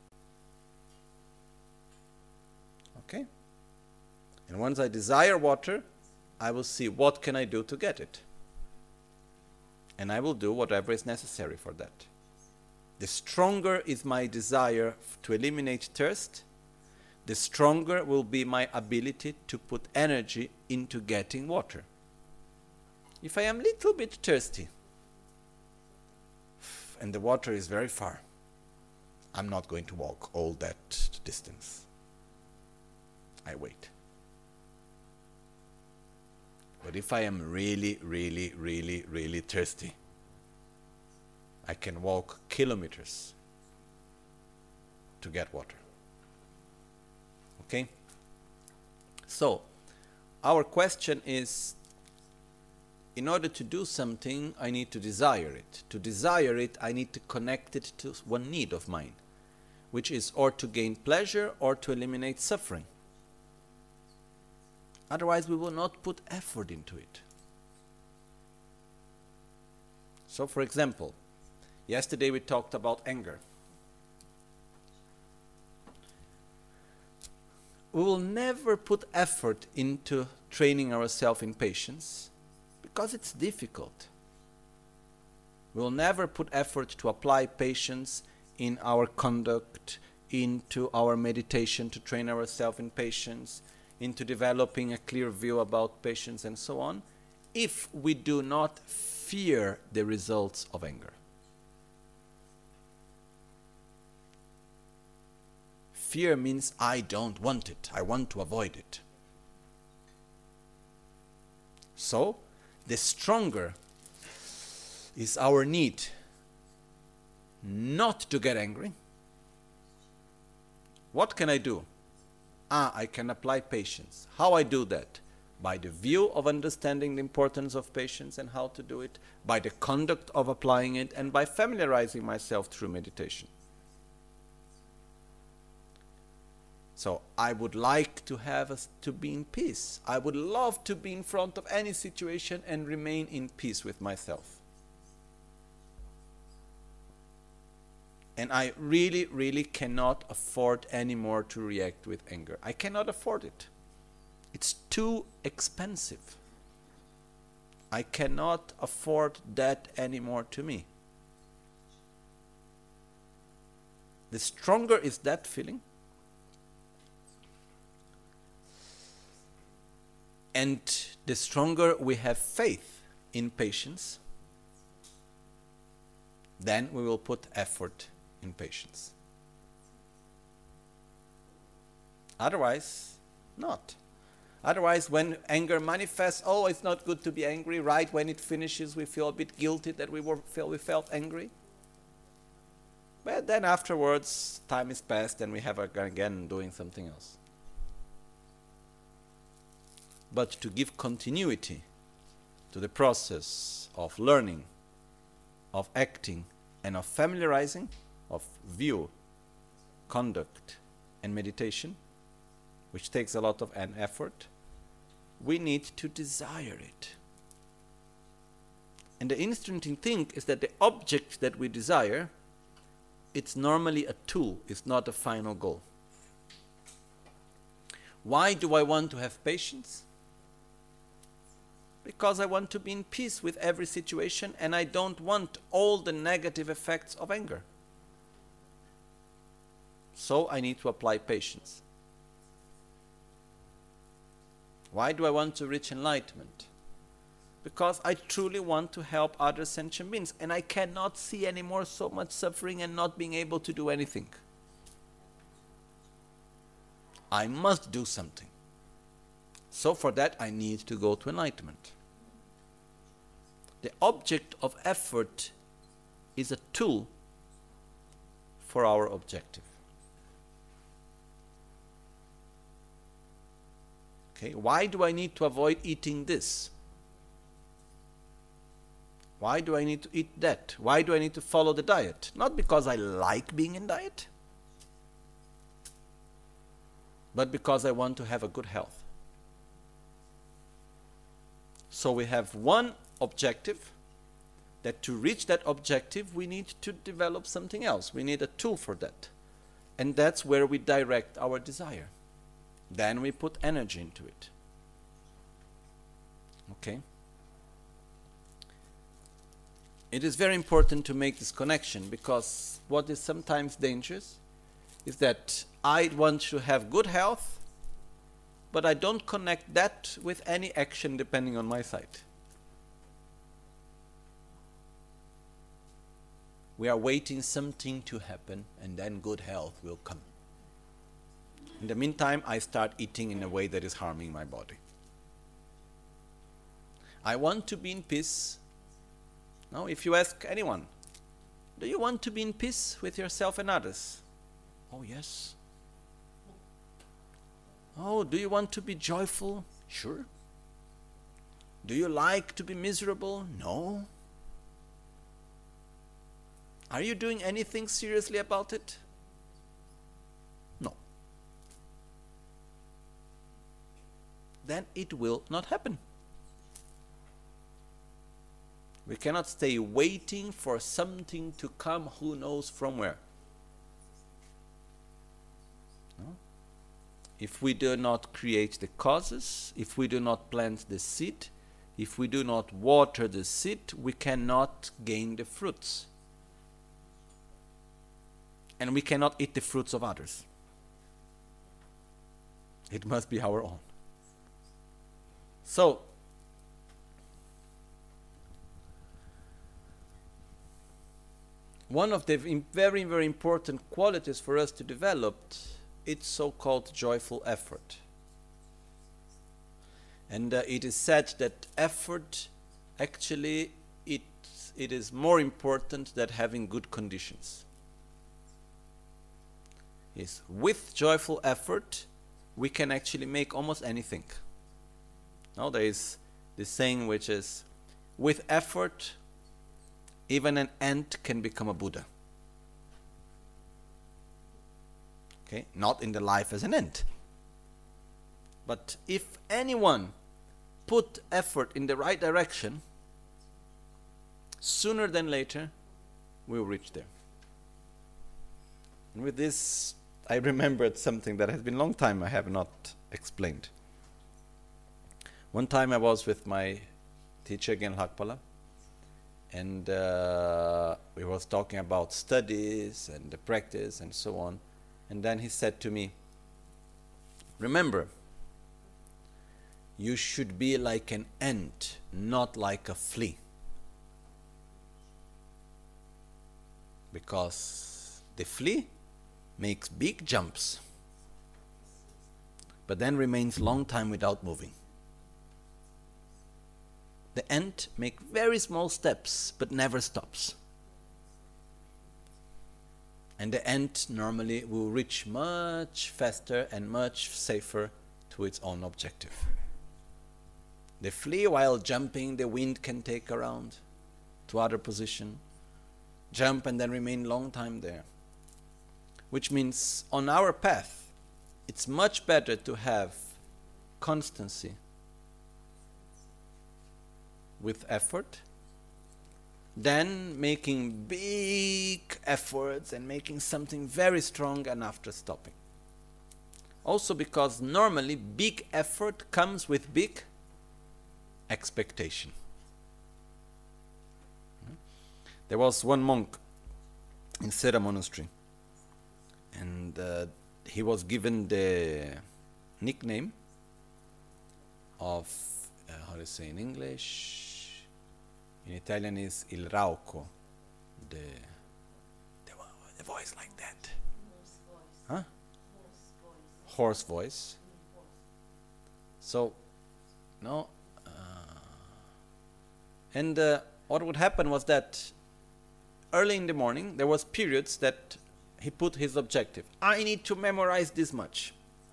Okay? And once I desire water, I will see what can I do to get it. And I will do whatever is necessary for that. The stronger is my desire to eliminate thirst, the stronger will be my ability to put energy into getting water. If I am a little bit thirsty and the water is very far, I'm not going to walk all that distance. I wait. But if I am really, really, really, really thirsty, I can walk kilometers to get water. Okay? So, our question is, in order to do something, I need to desire it. To desire it, I need to connect it to one need of mine, which is or to gain pleasure or to eliminate suffering. Otherwise, we will not put effort into it. So, for example, yesterday we talked about anger. We will never put effort into training ourselves in patience because it's difficult. We will never put effort to apply patience in our conduct, into our meditation to train ourselves in patience, into developing a clear view about patience and so on, if we do not fear the results of anger. Fear means I don't want it. I want to avoid it. So, the stronger is our need not to get angry. What can I do? Ah, I can apply patience. How I do that? By the view of understanding the importance of patience and how to do it, by the conduct of applying it, and by familiarizing myself through meditation. So I would like to have us to be in peace. I would love to be in front of any situation and remain in peace with myself. And I really, really cannot afford anymore to react with anger. I cannot afford it. It's too expensive. I cannot afford that anymore to me. The stronger is that feeling, and the stronger we have faith in patience, then we will put effort in patience. Otherwise, not. Otherwise, when anger manifests, oh, it's not good to be angry. Right when it finishes, we feel a bit guilty that we were feel we felt angry. But then afterwards, time is passed and we have again doing something else. But to give continuity to the process of learning, of acting, and of familiarizing, of view, conduct, and meditation, which takes a lot of an effort, we need to desire it. And the interesting thing is that the object that we desire, it's normally a tool, it's not a final goal. Why do I want to have patience? Because I want to be in peace with every situation and I don't want all the negative effects of anger. So I need to apply patience. Why do I want to reach enlightenment? Because I truly want to help other sentient beings, and I cannot see anymore so much suffering and not being able to do anything. I must do something. So for that I need to go to enlightenment. The object of effort is a tool for our objective. Okay, why do I need to avoid eating this? Why do I need to eat that? Why do I need to follow the diet? Not because I like being in diet, but because I want to have a good health. So we have one objective, that to reach that objective we need to develop something else. We need a tool for that. And that's where we direct our desire. Then we put energy into it. Okay? It is very important to make this connection, because what is sometimes dangerous is that I want to have good health, but I don't connect that with any action depending on my side. We are waiting something to happen, and then good health will come. In the meantime, I start eating in a way that is harming my body. I want to be in peace. Now, if you ask anyone, do you want to be in peace with yourself and others? Oh, yes. Oh, do you want to be joyful? Sure. Do you like to be miserable? No. Are you doing anything seriously about it? No. Then it will not happen. We cannot stay waiting for something to come, who knows from where. No? If we do not create the causes, if we do not plant the seed, if we do not water the seed, we cannot gain the fruits. And we cannot eat the fruits of others. It must be our own. So, one of the very, very important qualities for us to develop, it's so-called joyful effort. And uh, it is said that effort, actually, it, it is more important than having good conditions. Yes, with joyful effort, we can actually make almost anything. Now there is this saying which is, with effort, even an ant can become a Buddha. Okay, not in the life as an ant. But if anyone put effort in the right direction, sooner than later, we will reach there. And with this, I remembered something that has been a long time I have not explained. One time I was with my teacher, Gen Lakpala, and uh, we was talking about studies and the practice and so on. And then he said to me, remember, you should be like an ant, not like a flea. Because the flea makes big jumps, but then remains long time without moving. The ant makes very small steps, but never stops. And the ant normally will reach much faster and much safer to its own objective. The flea, while jumping, the wind can take around to other position, jump and then remain long time there. Which means on our path, it's much better to have constancy with effort than making big efforts and making something very strong and after stopping. Also because normally big effort comes with big expectation. There was one monk in Sera Monastery, and uh, he was given the nickname of, uh, how do you say in English? In Italian is il rauco, the, the, the voice like that. Huh? Hoarse voice. So, no. Uh, and uh, what would happen was that early in the morning, there was periods that he put his objective. I need to memorize this much.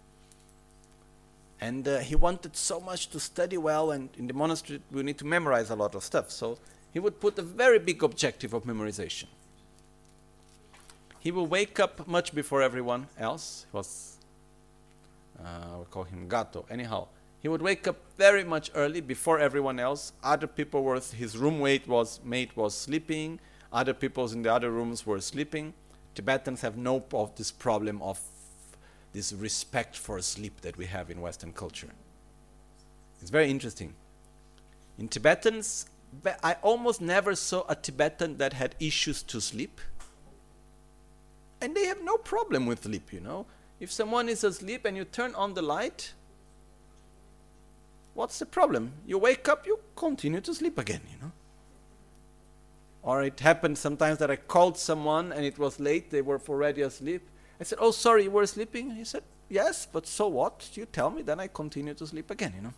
And uh, he wanted so much to study well, and in the monastery we need to memorize a lot of stuff. So he would put a very big objective of memorization. He will wake up much before everyone else. He was, uh, we call him Gato. Anyhow, he would wake up very much early before everyone else. Other people were, his roommate was, mate was sleeping. Other people in the other rooms were sleeping. Tibetans have no of this problem of this respect for sleep that we have in Western culture. It's very interesting. In Tibetans, I almost never saw a Tibetan that had issues to sleep. And they have no problem with sleep, you know. If someone is asleep and you turn on the light, what's the problem? You wake up, you continue to sleep again, you know. Or it happened sometimes that I called someone and it was late, they were already asleep. I said, oh, sorry, you were sleeping? He said, yes, but so what? You tell me, then I continue to sleep again, you know.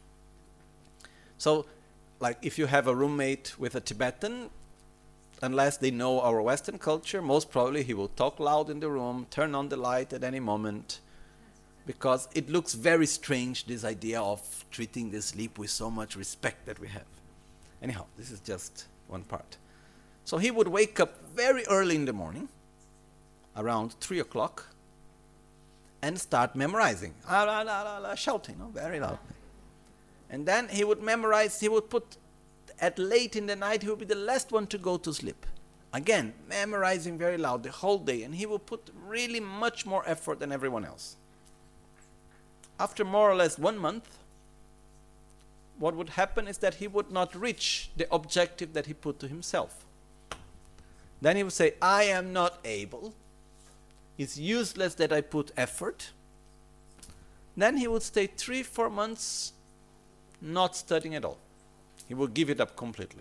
So, like, if you have a roommate with a Tibetan, unless they know our Western culture, most probably he will talk loud in the room, turn on the light at any moment, because it looks very strange, this idea of treating the sleep with so much respect that we have. Anyhow, this is just one part. So he would wake up very early in the morning, around three o'clock, and start memorizing, ah, la, la, la, la, shouting, no? Very loud. And then he would memorize, he would put, at late in the night, he would be the last one to go to sleep. Again, memorizing very loud the whole day, and he would put really much more effort than everyone else. After more or less one month, what would happen is that he would not reach the objective that he put to himself. Then he would say, I am not able. It's useless that I put effort. Then he would stay three, four months not studying at all. He would give it up completely.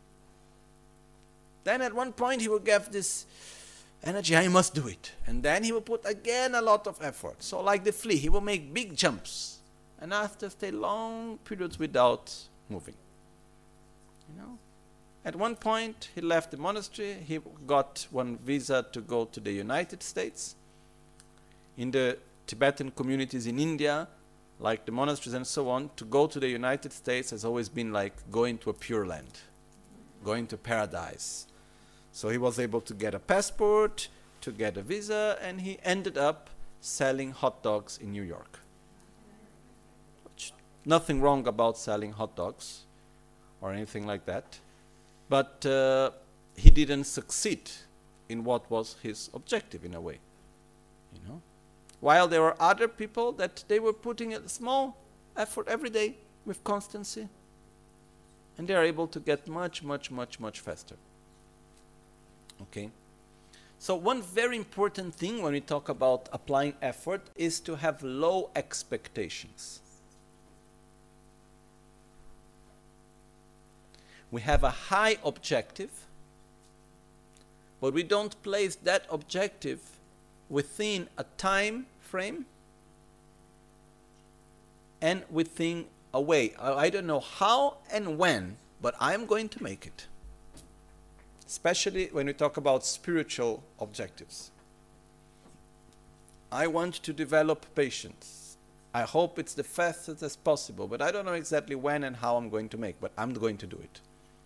Then at one point he would give this energy, I must do it. And then he would put again a lot of effort. So like the flea, he will make big jumps. And after stay long periods without moving. You know? At one point, he left the monastery. He got one visa to go to the United States. In the Tibetan communities in India, like the monasteries and so on, to go to the United States has always been like going to a pure land, going to paradise. So he was able to get a passport, to get a visa, and he ended up selling hot dogs in New York. Which, nothing wrong about selling hot dogs or anything like that. But uh, he didn't succeed in what was his objective in a way, you know. While there were other people that they were putting a small effort every day with constancy, and they are able to get much, much, much, much faster. Okay. So one very important thing when we talk about applying effort is to have low expectations. We have a high objective, but we don't place that objective within a time frame and within a way. I, I don't know how and when, but I'm going to make it. Especially when we talk about spiritual objectives. I want to develop patience. I hope it's the fastest as possible, but I don't know exactly when and how I'm going to make, but I'm going to do it.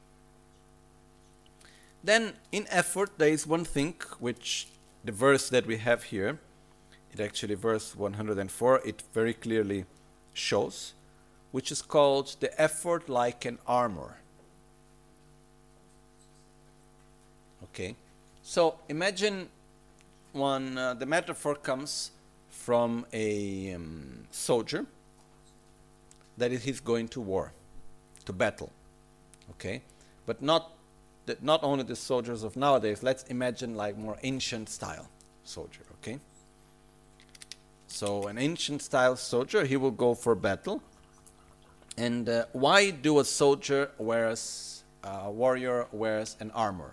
Then in effort there is one thing which the verse that we have here, it actually verse one hundred four, it very clearly shows, which is called the effort like an armor. Okay, so imagine one, uh, the metaphor comes from a um, soldier that is he's going to war, to battle, okay, but not that not only the soldiers of nowadays. Let's imagine like more ancient style soldier, okay. So an ancient style soldier, he will go for battle, And uh, why do a soldier wears, uh, a warrior wears an armor?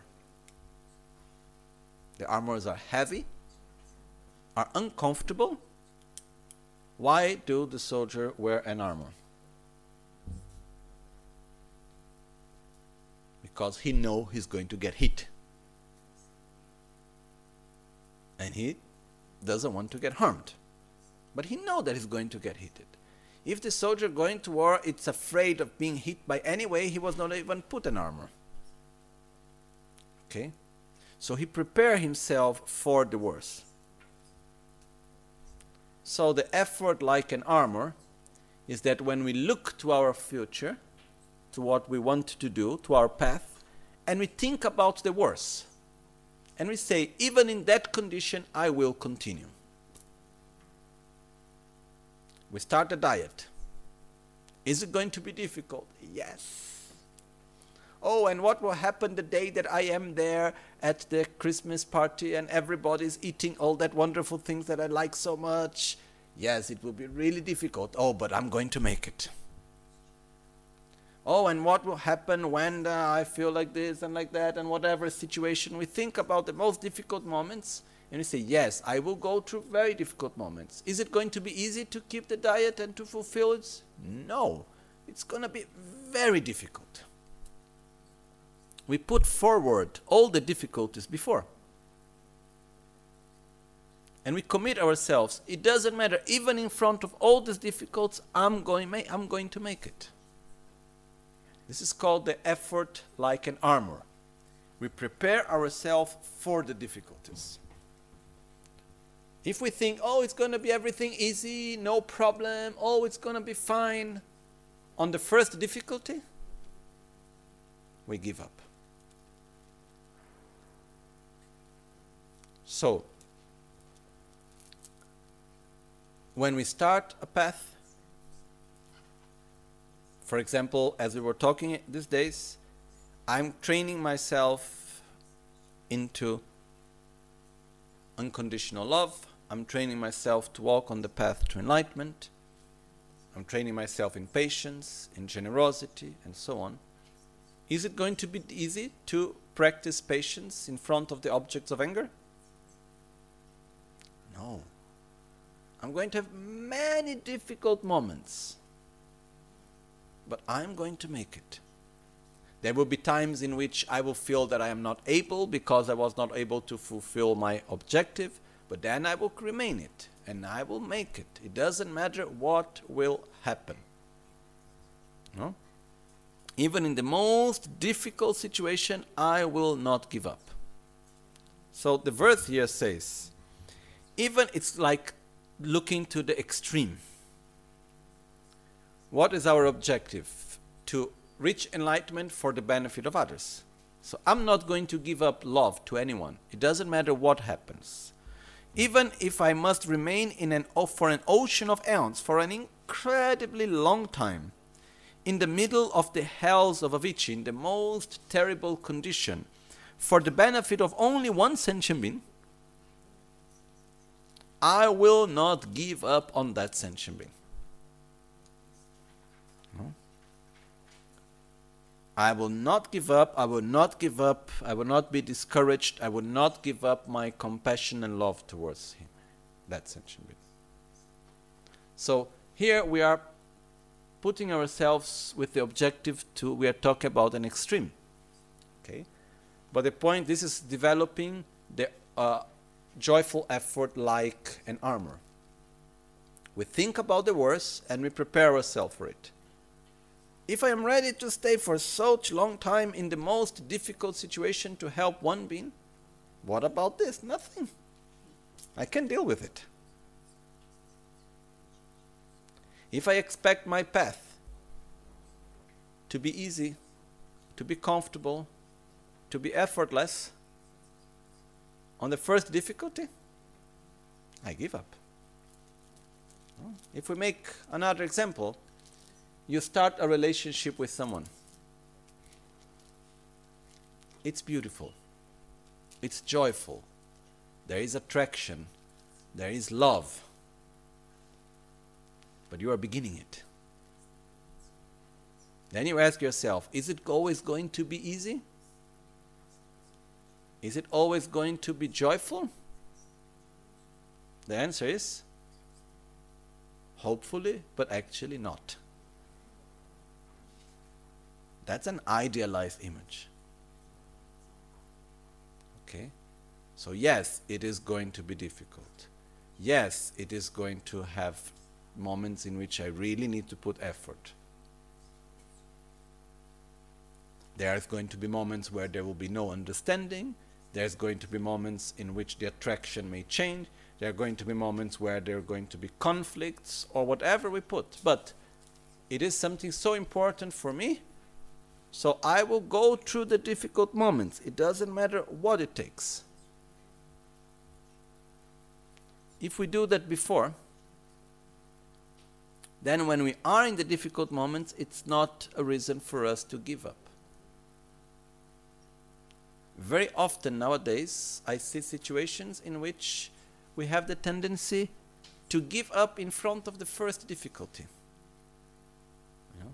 The armors are heavy, are uncomfortable. Why do the soldier wear an armor? Because he knows he's going to get hit. And he doesn't want to get harmed. But he knows that he's going to get hit. If the soldier going to war is afraid of being hit by any way, he was not even put an armor. Okay? So he prepared himself for the worst. So the effort like an armor is that when we look to our future, to what we want to do, to our path, and we think about the worst, and we say, even in that condition, I will continue. We start a diet. Is it going to be difficult? Yes. Oh, and what will happen the day that I am there at the Christmas party and everybody's eating all that wonderful things that I like so much? Yes, it will be really difficult. Oh, but I'm going to make it. Oh, and what will happen when uh, I feel like this and like that and whatever situation? We think about the most difficult moments and we say, yes, I will go through very difficult moments. Is it going to be easy to keep the diet and to fulfill it? No, it's going to be very difficult. We put forward all the difficulties before. And we commit ourselves. It doesn't matter, even in front of all these difficulties, I'm going, I'm going to make it. This is called the effort like an armor. We prepare ourselves for the difficulties. If we think, oh, it's going to be everything easy, no problem, oh, it's going to be fine, on the first difficulty, we give up. So, when we start a path, for example, as we were talking these days, I'm training myself into unconditional love. I'm training myself to walk on the path to enlightenment. I'm training myself in patience, in generosity, and so on. Is it going to be easy to practice patience in front of the objects of anger? No. I'm going to have many difficult moments. But I'm going to make it. There will be times in which I will feel that I am not able because I was not able to fulfill my objective, but then I will remain it and I will make it. It doesn't matter what will happen. No? Even in the most difficult situation, I will not give up. So the verse here says, even it's like looking to the extreme. What is our objective? To reach enlightenment for the benefit of others. So I'm not going to give up love to anyone. It doesn't matter what happens. Even if I must remain in an for an ocean of aeons for an incredibly long time, in the middle of the hells of Avicii, in the most terrible condition, for the benefit of only one sentient being, I will not give up on that sentient being. No? I will not give up, I will not give up, I will not be discouraged, I will not give up my compassion and love towards him. That sentient being. So here we are putting ourselves with the objective to, we are talking about an extreme. Okay? But the point, this is developing the uh, joyful effort like an armor. We think about the worst and we prepare ourselves for it. If I am ready to stay for such long time in the most difficult situation to help one being, what about this? Nothing. I can deal with it. If I expect my path to be easy, to be comfortable, to be effortless, on the first difficulty, I give up. If we make another example, you start a relationship with someone. It's beautiful. It's joyful. There is attraction. There is love. But you are beginning it. Then you ask yourself, is it always going to be easy? Is it always going to be joyful? The answer is, hopefully, but actually not. That's an idealized image. Okay? So yes, it is going to be difficult. Yes, it is going to have moments in which I really need to put effort. There's going to be moments where there will be no understanding. There's going to be moments in which the attraction may change. There are going to be moments where there are going to be conflicts or whatever we put. But it is something so important for me, so I will go through the difficult moments. It doesn't matter what it takes. If we do that before, then when we are in the difficult moments, it's not a reason for us to give up. Very often nowadays, I see situations in which we have the tendency to give up in front of the first difficulty. You know?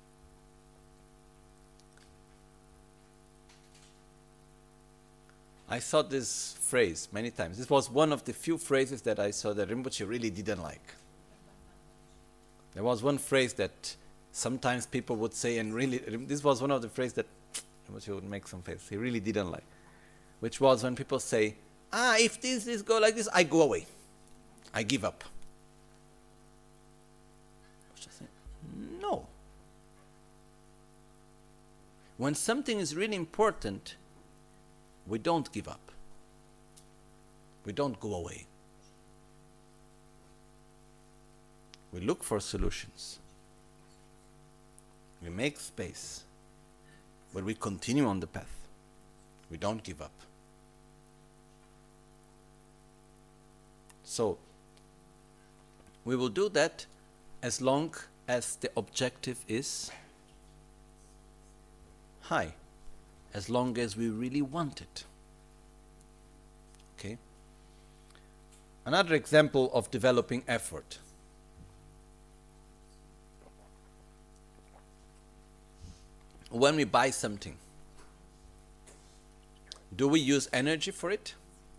I saw this phrase many times. This was one of the few phrases that I saw that Rinpoche really didn't like. There was one phrase that sometimes people would say, and really, this was one of the phrases that Rinpoche would make some face. He really didn't like, which was when people say, ah, if this, this go like this, I go away. I give up. I say, no. When something is really important, we don't give up. We don't go away. We look for solutions. We make space. But we continue on the path. We don't give up. So, we will do that as long as the objective is high, as long as we really want it. Okay? Another example of developing effort. When we buy something, do we use energy for it?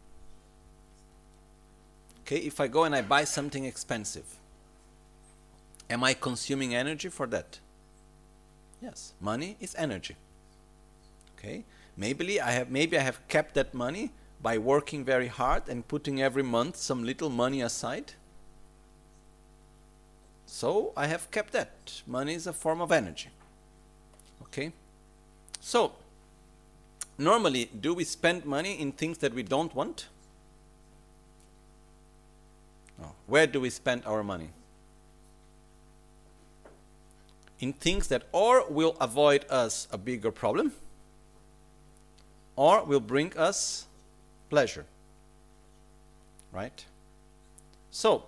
Okay, if I go and I buy something expensive, am I consuming energy for that? Yes, money is energy. Okay, maybe I have maybe I have kept that money by working very hard and putting every month some little money aside. So I have kept that. Money is a form of energy. Okay, so normally, do we spend money in things that we don't want? No. Where do we spend our money? In things that or will avoid us a bigger problem, or will bring us pleasure. Right? So,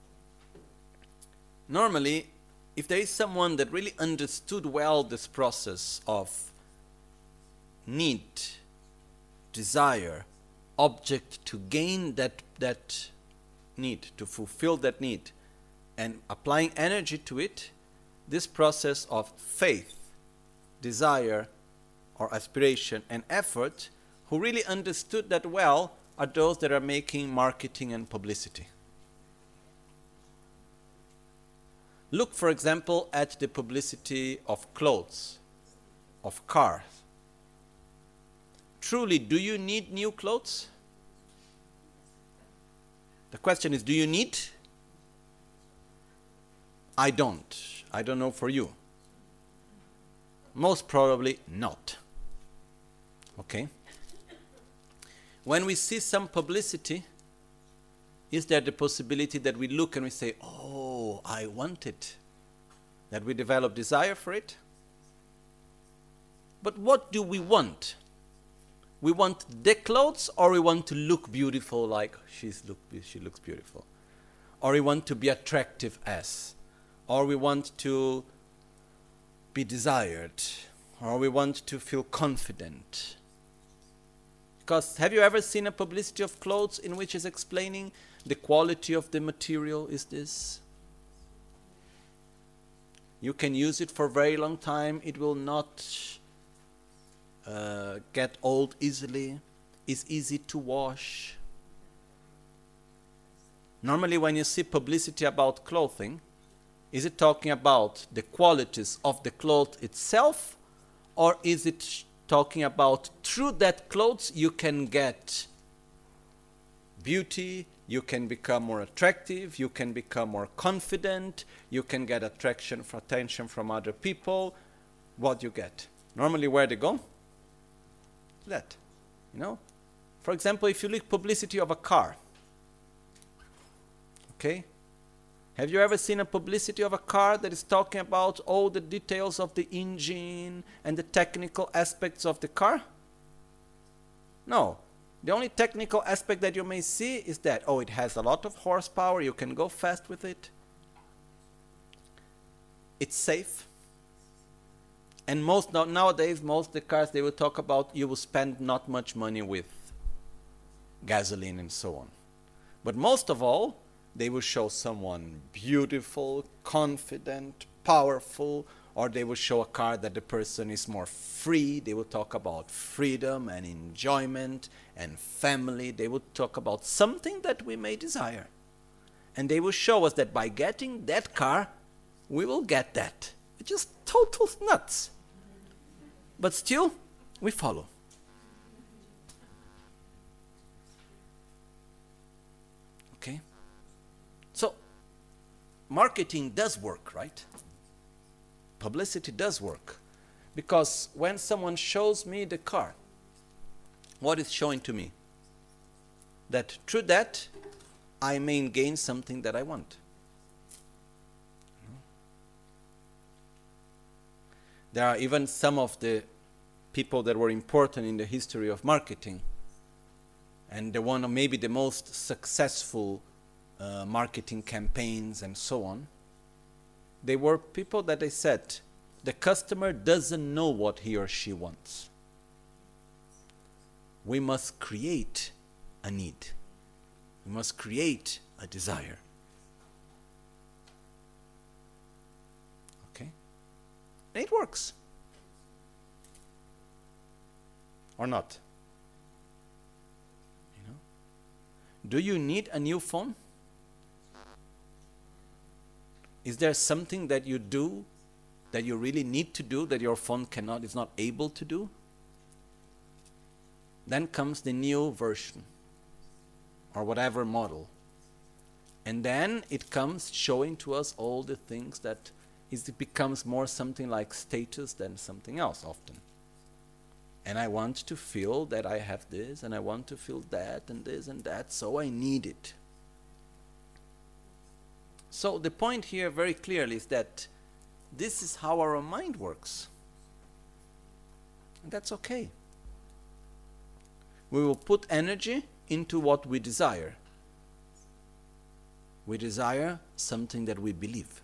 normally, if there is someone that really understood well this process of need, desire, object to gain that, that need, to fulfill that need, and applying energy to it, this process of faith, desire, or aspiration and effort, who really understood that well, are those that are making marketing and publicity. Look, for example, at the publicity of clothes, of cars. Truly, do you need new clothes? The question is, do you need? I don't. I don't know for you. Most probably not. Okay? When we see some publicity, is there the possibility that we look and we say, oh, I want it? That we develop desire for it? But what do we want? We want the clothes, or we want to look beautiful like she's look, she looks beautiful? Or we want to be attractive as? Or we want to be desired? Or we want to feel confident? Because have you ever seen a publicity of clothes in which is explaining the quality of the material is this? You can use it for a very long time. It will not uh, get old easily. It's easy to wash. Normally when you see publicity about clothing, is it talking about the qualities of the cloth itself, or is it talking about through that clothes you can get beauty, you can become more attractive, you can become more confident, you can get attraction for attention from other people? What do you get? Normally where they go? That, you know? For example, if you look publicity of a car, okay? Have you ever seen a publicity of a car that is talking about all the details of the engine and the technical aspects of the car? No. The only technical aspect that you may see is that, oh, it has a lot of horsepower, you can go fast with it. It's safe. And most nowadays, most of the cars, they will talk about you will spend not much money with gasoline and so on. But most of all, they will show someone beautiful, confident, powerful, or they will show a car that the person is more free. They will talk about freedom and enjoyment and family. They will talk about something that we may desire. And they will show us that by getting that car, we will get that. It's just total nuts. But still, we follow. Okay? So, marketing does work, right? Publicity does work. Because when someone shows me the car, what is showing to me? That through that, I may gain something that I want. There are even some of the people that were important in the history of marketing, and the one of maybe the most successful uh, marketing campaigns and so on, they were people that they said, the customer doesn't know what he or she wants. We must create a need. We must create a desire. Okay? And it works. Or not? You know? Do you need a new phone? Is there something that you do that you really need to do that your phone cannot, is not able to do? Then comes the new version or whatever model. And then it comes showing to us all the things that is, it becomes more something like status than something else often. And I want to feel that I have this, and I want to feel that, and this and that, so I need it. So the point here very clearly is that this is how our mind works. And that's okay. We will put energy into what we desire. We desire something that we believe,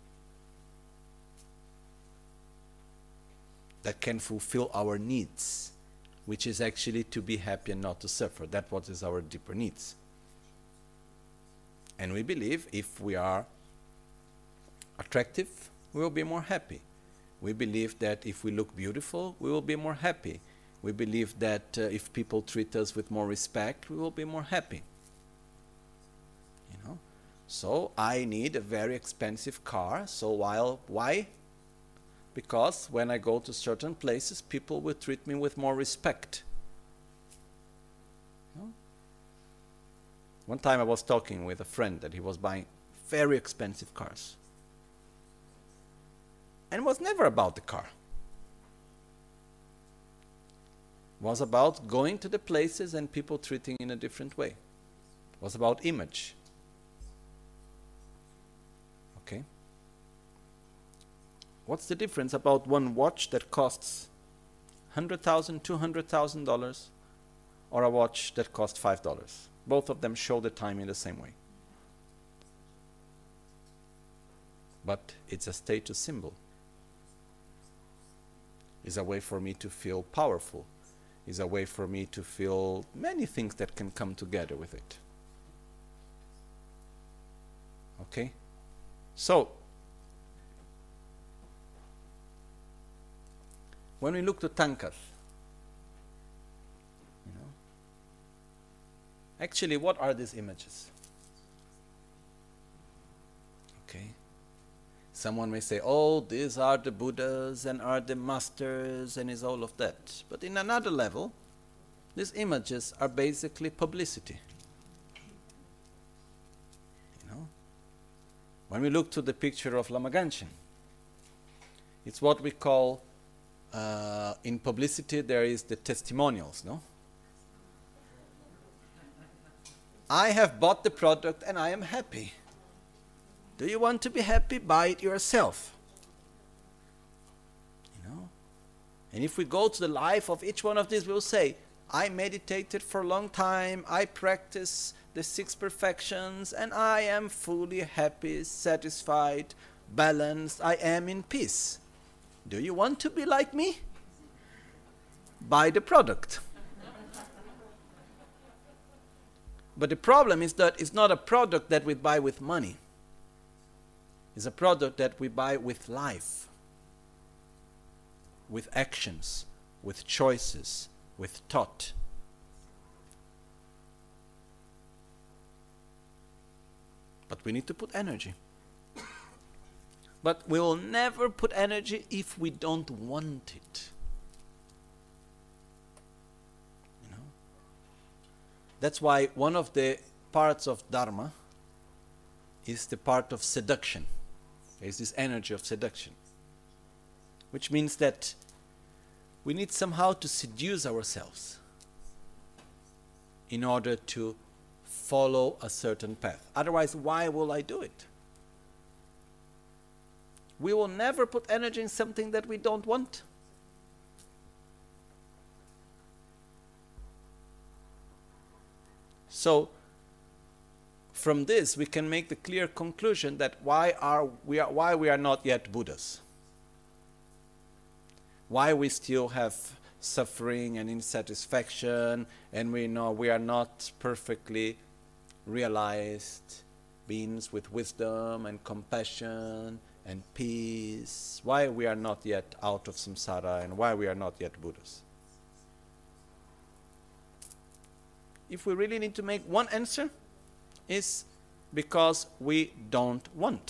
that can fulfill our needs, which is actually to be happy and not to suffer. That's what is our deeper needs. And we believe if we are attractive, we will be more happy. We believe that if we look beautiful, we will be more happy. We believe that uh, if people treat us with more respect, we will be more happy. You know? So I need a very expensive car. So while, why? Because when I go to certain places, people will treat me with more respect. You know? One time I was talking with a friend that he was buying very expensive cars. And it was never about the car. It was about going to the places and people treating in a different way. It was about image. Okay? What's the difference about one watch that costs one hundred thousand dollars, two hundred thousand dollars, or a watch that costs five dollars? Both of them show the time in the same way. But it's a status symbol. It's a way for me to feel powerful. It's a way for me to feel many things that can come together with it. Okay? So, When we look to tankas, you know, actually, what are these images? Okay. Someone may say, oh, these are the Buddhas and are the masters and is all of that. But in another level, these images are basically publicity. You know? When we look to the picture of Lama Ganchen, it's what we call, uh, in publicity there is the testimonials, no? I have bought the product and I am happy. Do you want to be happy? Buy it yourself. You know? And if we go to the life of each one of these, we'll say, I meditated for a long time, I practice the six perfections, and I am fully happy, satisfied, balanced, I am in peace. Do you want to be like me? Buy the product. But the problem is that it's not a product that we buy with money. It's a product that we buy with life, with actions, with choices, with thought. But we need to put energy. But we will never put energy if we don't want it. You know? That's why one of the parts of Dharma is the part of seduction. There's this energy of seduction, which means that we need somehow to seduce ourselves in order to follow a certain path. Otherwise, why will I do it? We will never put energy in something that we don't want. So, from this, we can make the clear conclusion that why are we are why we are not yet Buddhas. Why we still have suffering and insatisfaction, and we know we are not perfectly realized beings with wisdom and compassion and peace. Why we are not yet out of samsara, and why we are not yet Buddhas. If we really need to make one answer, is because we don't want.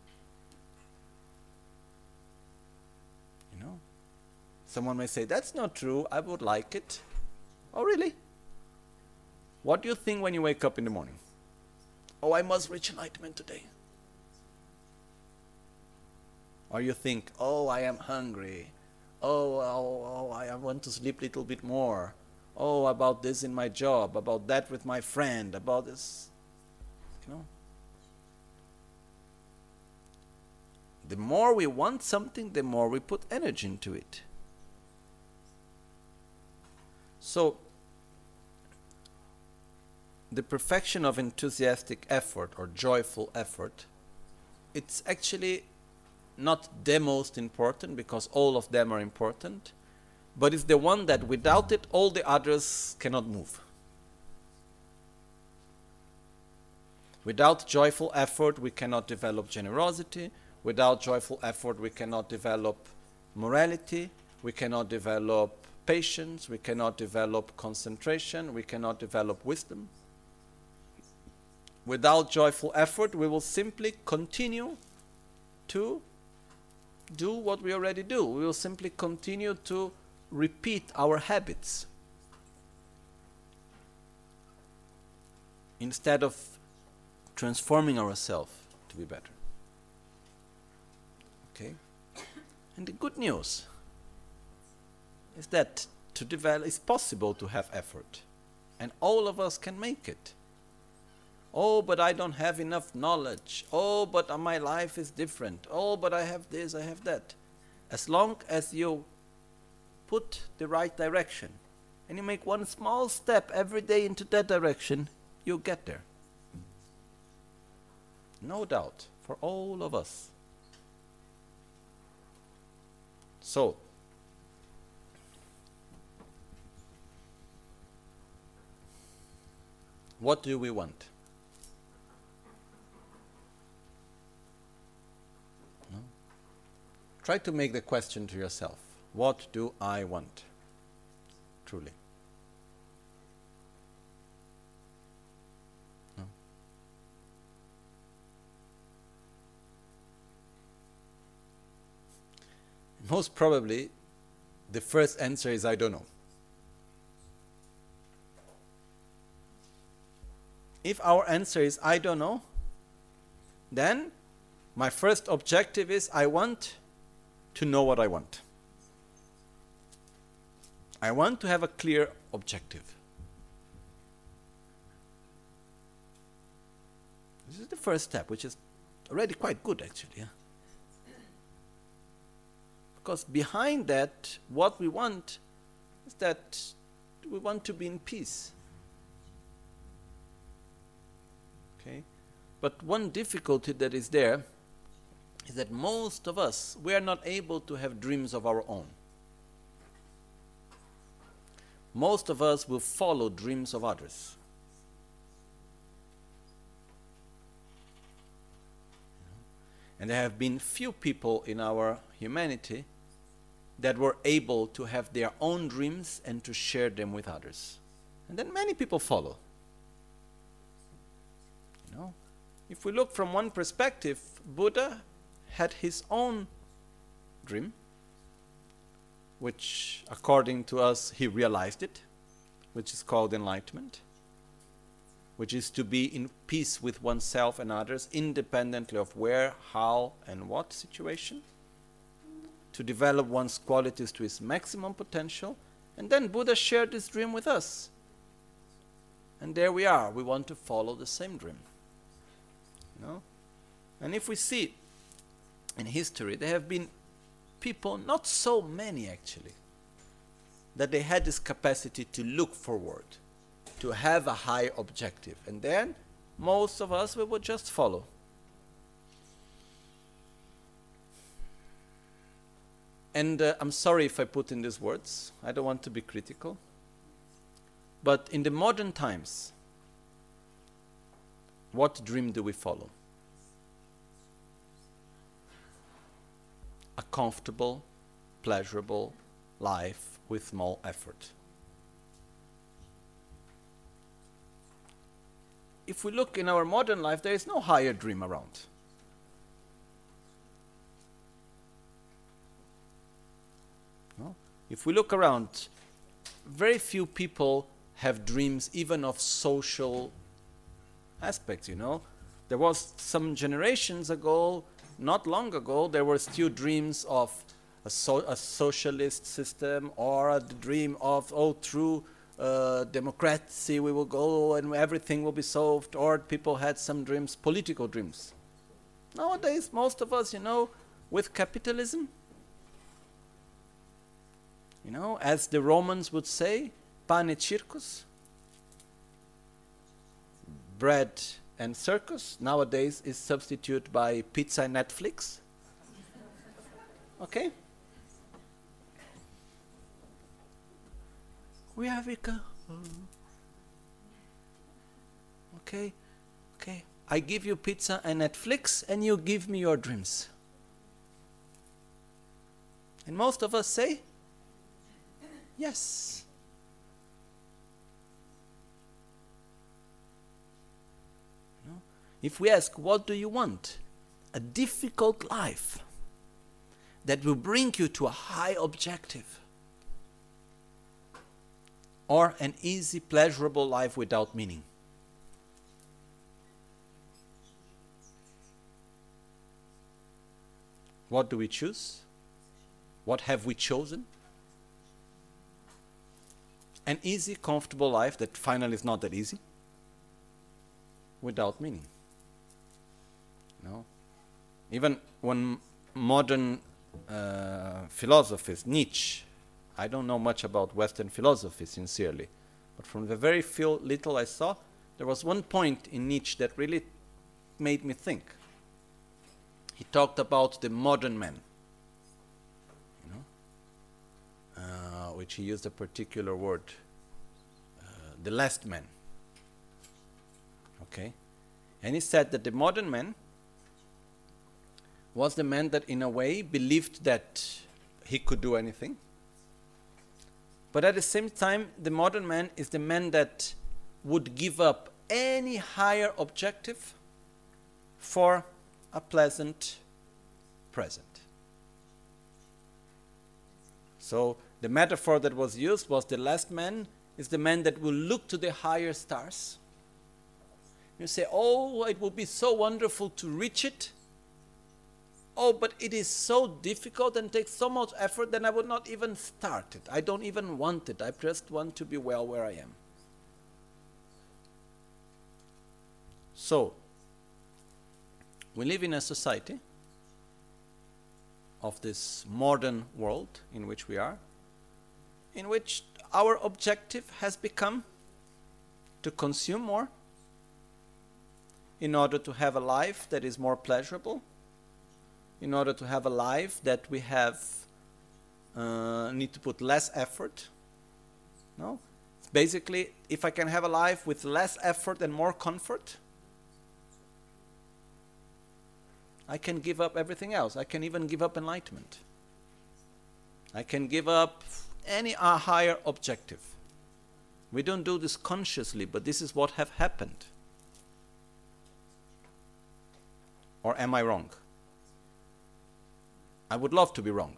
You know? Someone may say, that's not true, I would like it. Oh, really? What do you think when you wake up in the morning? Oh, I must reach enlightenment today. Or you think, oh, I am hungry. Oh, oh, oh, I want to sleep a little bit more. Oh, about this in my job, about that with my friend, about this. You know? The more we want something, the more we put energy into it. So, the perfection of enthusiastic effort or joyful effort, it's actually not the most important, because all of them are important, but it's the one that without it, all the others cannot move. Without joyful effort, we cannot develop generosity. Without joyful effort, we cannot develop morality. We cannot develop patience. We cannot develop concentration. We cannot develop wisdom. Without joyful effort, we will simply continue to do what we already do. We will simply continue to repeat our habits instead of transforming ourselves to be better. Okay? And the good news is that to develop, it's possible to have effort, and all of us can make it. Oh, but I don't have enough knowledge. Oh, but my life is different. Oh, but I have this, I have that. As long as you put the right direction and you make one small step every day into that direction, you'll get there. No doubt, for all of us. So, what do we want? No? Try to make the question to yourself. What do I want? Truly. No? Most probably, the first answer is I don't know. If our answer is I don't know, then my first objective is I want to know what I want. I want to have a clear objective. This is the first step, which is already quite good actually. Yeah? Because behind that, what we want is that we want to be in peace. Okay? But one difficulty that is there is that most of us, we are not able to have dreams of our own. Most of us will follow dreams of others. And there have been few people in our humanity that were able to have their own dreams and to share them with others. And then many people follow. You know, if we look from one perspective, Buddha had his own dream, which according to us he realized it, which is called enlightenment, which is to be in peace with oneself and others independently of where, how and what situation, to develop one's qualities to its maximum potential. And then Buddha shared this dream with us. And there we are, we want to follow the same dream. You know? And if we see in history, there have been people, not so many actually, that they had this capacity to look forward, to have a high objective. And then most of us, we would just follow. And uh, I'm sorry if I put in these words, I don't want to be critical. But in the modern times, what dream do we follow? A comfortable, pleasurable life with small effort. If we look in our modern life, there is no higher dream around. No? If we look around, very few people have dreams even of social aspects, you know. There was some generations ago, not long ago, there were still dreams of a, so, a socialist system, or a dream of, oh, through uh, democracy we will go and everything will be solved, or people had some dreams, political dreams. Nowadays, most of us, you know, with capitalism, you know, as the Romans would say, pane circus, bread and circus, nowadays is substituted by pizza and Netflix. Okay? Where we go? Okay, okay. I give you pizza and Netflix, and you give me your dreams. And most of us say, yes. If we ask, what do you want? A difficult life that will bring you to a high objective, or an easy, pleasurable life without meaning? What do we choose? What have we chosen? An easy, comfortable life that finally is not that easy, without meaning. No? Even one modern uh, philosophist, Nietzsche, I don't know much about Western philosophy, sincerely, but from the very few little I saw, there was one point in Nietzsche that really made me think. He talked about the modern man, you know, uh, which he used a particular word, uh, the last man. Okay, and he said that the modern man was the man that in a way believed that he could do anything, But at the same time, the modern man is the man that would give up any higher objective for a pleasant present. So the metaphor that was used was the last man is the man that will look to the higher stars. You say, oh, it would be so wonderful to reach it. Oh, but it is so difficult and takes so much effort that I would not even start it. I don't even want it. I just want to be well where I am. So, we live in a society of this modern world in which we are, in which our objective has become to consume more in order to have a life that is more pleasurable, in order to have a life that we have uh, need to put less effort. No? It's basically, if I can have a life with less effort and more comfort, I can give up everything else. I can even give up enlightenment. I can give up any uh, higher objective. We don't do this consciously, but this is what have happened. Or am I wrong? I would love to be wrong.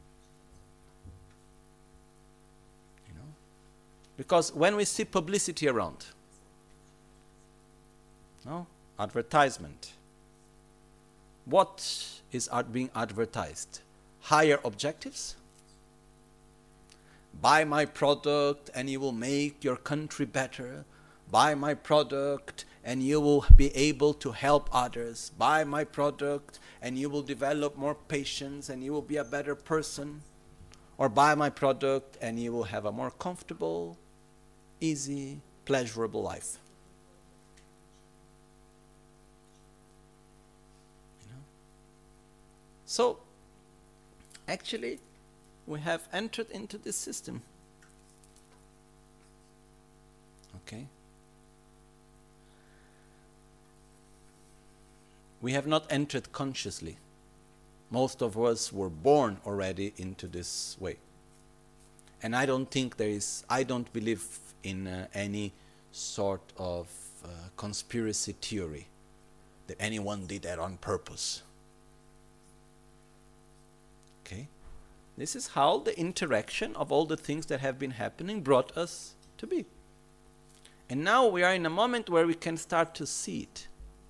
You know? Because when we see publicity around, no? Advertisement, what is being advertised? Higher objectives? Buy my product and you will make your country better. Buy my product and you will be able to help others. Buy my product and you will develop more patience and you will be a better person. Or buy my product and you will have a more comfortable, easy, pleasurable life. You know? So, actually, we have entered into this system. Okay? We have not entered consciously. Most of us were born already into this way. And I don't think there is, I don't believe in uh, any sort of uh, conspiracy theory that anyone did that on purpose. Okay? This is how the interaction of all the things that have been happening brought us to be. And now we are in a moment where we can start to see it.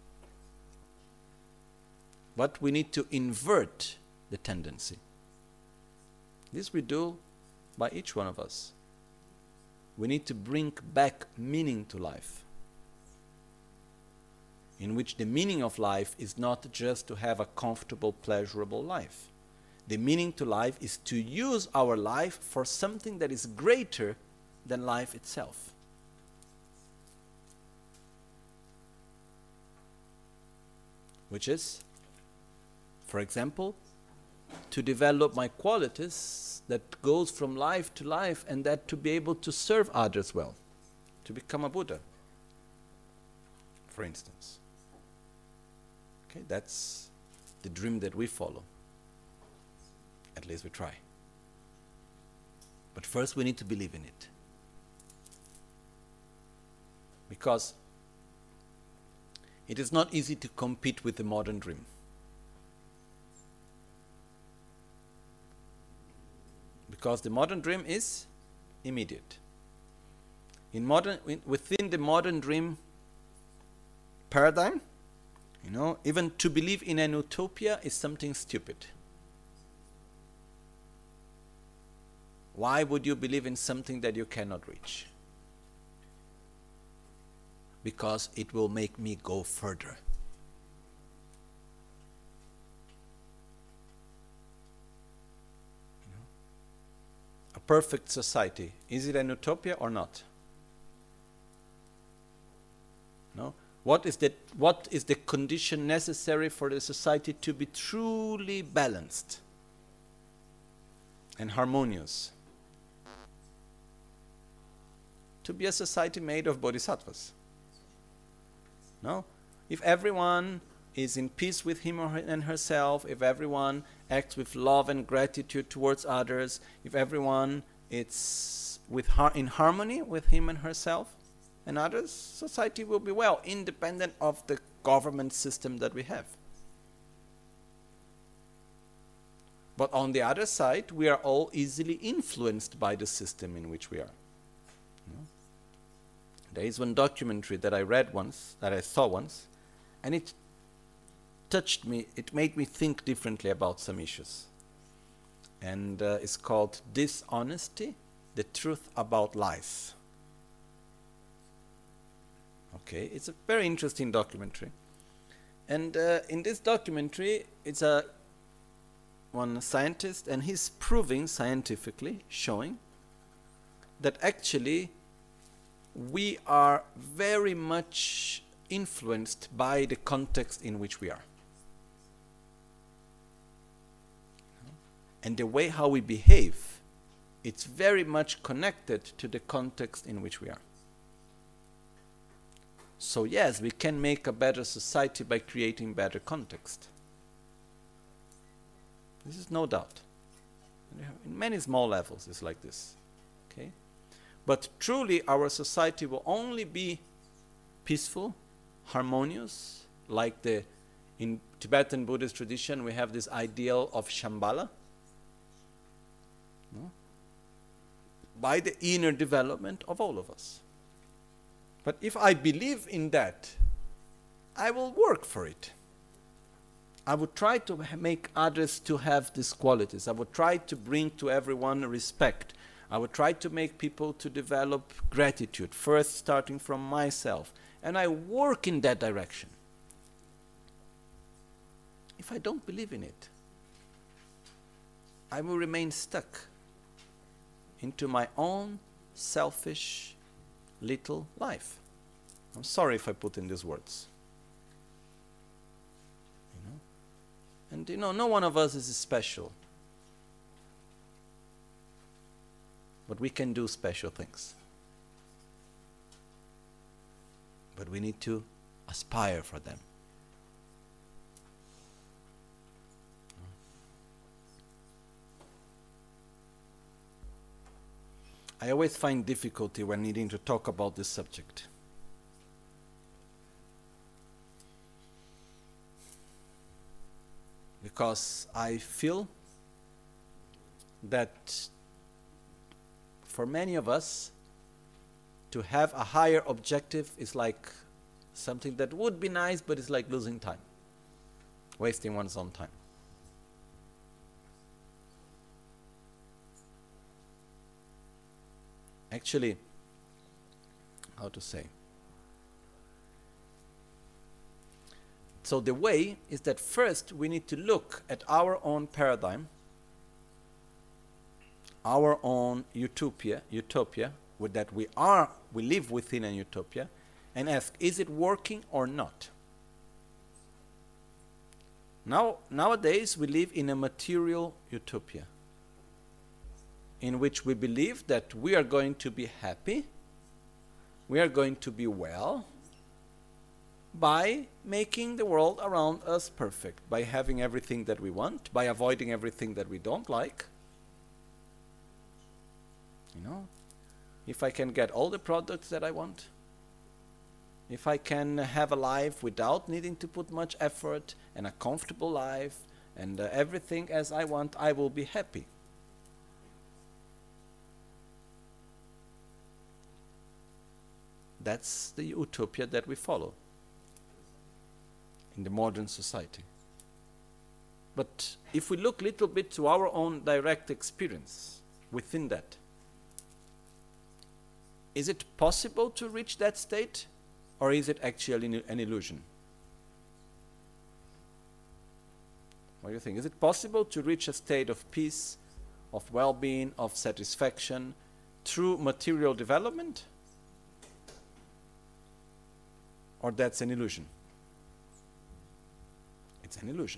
But we need to invert the tendency. This we do by each one of us. We need to bring back meaning to life, in which the meaning of life is not just to have a comfortable, pleasurable life. The meaning to life is to use our life for something that is greater than life itself. Which is, for example, to develop my qualities that goes from life to life, and that to be able to serve others well, to become a Buddha, for instance. Okay, that's the dream that we follow. At least we try. But first we need to believe in it. Because it is not easy to compete with the modern dream. Because the modern dream is immediate. In modern, within the modern dream paradigm, you know, even to believe in an utopia is something stupid. Why would you believe in something that you cannot reach? Because it will make me go further. You know? A perfect society, is it an utopia or not? No? What is the, what is the condition necessary for the society to be truly balanced and harmonious? To be a society made of bodhisattvas. No? If everyone is in peace with him or her and herself, if everyone acts with love and gratitude towards others, if everyone is with har in harmony with him and herself and others, society will be well, independent of the government system that we have. But on the other side, we are all easily influenced by the system in which we are. You know? There is one documentary that I read once, that I saw once, and it touched me, it made me think differently about some issues. And uh, it's called Dishonesty, the Truth About Lies. Okay, it's a very interesting documentary. And uh, in this documentary, it's a one scientist, and he's proving scientifically, showing that actually we are very much influenced by the context in which we are. And the way how we behave, it's very much connected to the context in which we are. So yes, we can make a better society by creating better context. This is no doubt. In many small levels it's like this. Okay? But truly our society will only be peaceful, harmonious, like the in Tibetan Buddhist tradition we have this ideal of Shambhala. No? By the inner development of all of us. But if I believe in that, I will work for it. I would try to make others to have these qualities. I would try to bring to everyone respect. I would try to make people to develop gratitude, first starting from myself. And I work in that direction. If I don't believe in it, I will remain stuck into my own selfish little life. I'm sorry if I put in these words. You know? And you know, no one of us is special. But we can do special things. But we need to aspire for them. I always find difficulty when needing to talk about this subject. Because I feel that for many of us, to have a higher objective is like something that would be nice, but it's like losing time, wasting one's own time. Actually, how to say? So the way is that first we need to look at our own paradigm, our own utopia, utopia, with that we are, we live within a utopia, and ask, is it working or not? Now, nowadays we live in a material utopia, in which we believe that we are going to be happy, we are going to be well, by making the world around us perfect, by having everything that we want, by avoiding everything that we don't like. You know, if I can get all the products that I want, if I can have a life without needing to put much effort, and a comfortable life, and uh, everything as I want, I will be happy. That's the utopia that we follow in the modern society. But if we look a little bit to our own direct experience within that, is it possible to reach that state, or is it actually an illusion? What do you think? Is it possible to reach a state of peace, of well-being, of satisfaction through material development? Or that's an illusion? It's an illusion.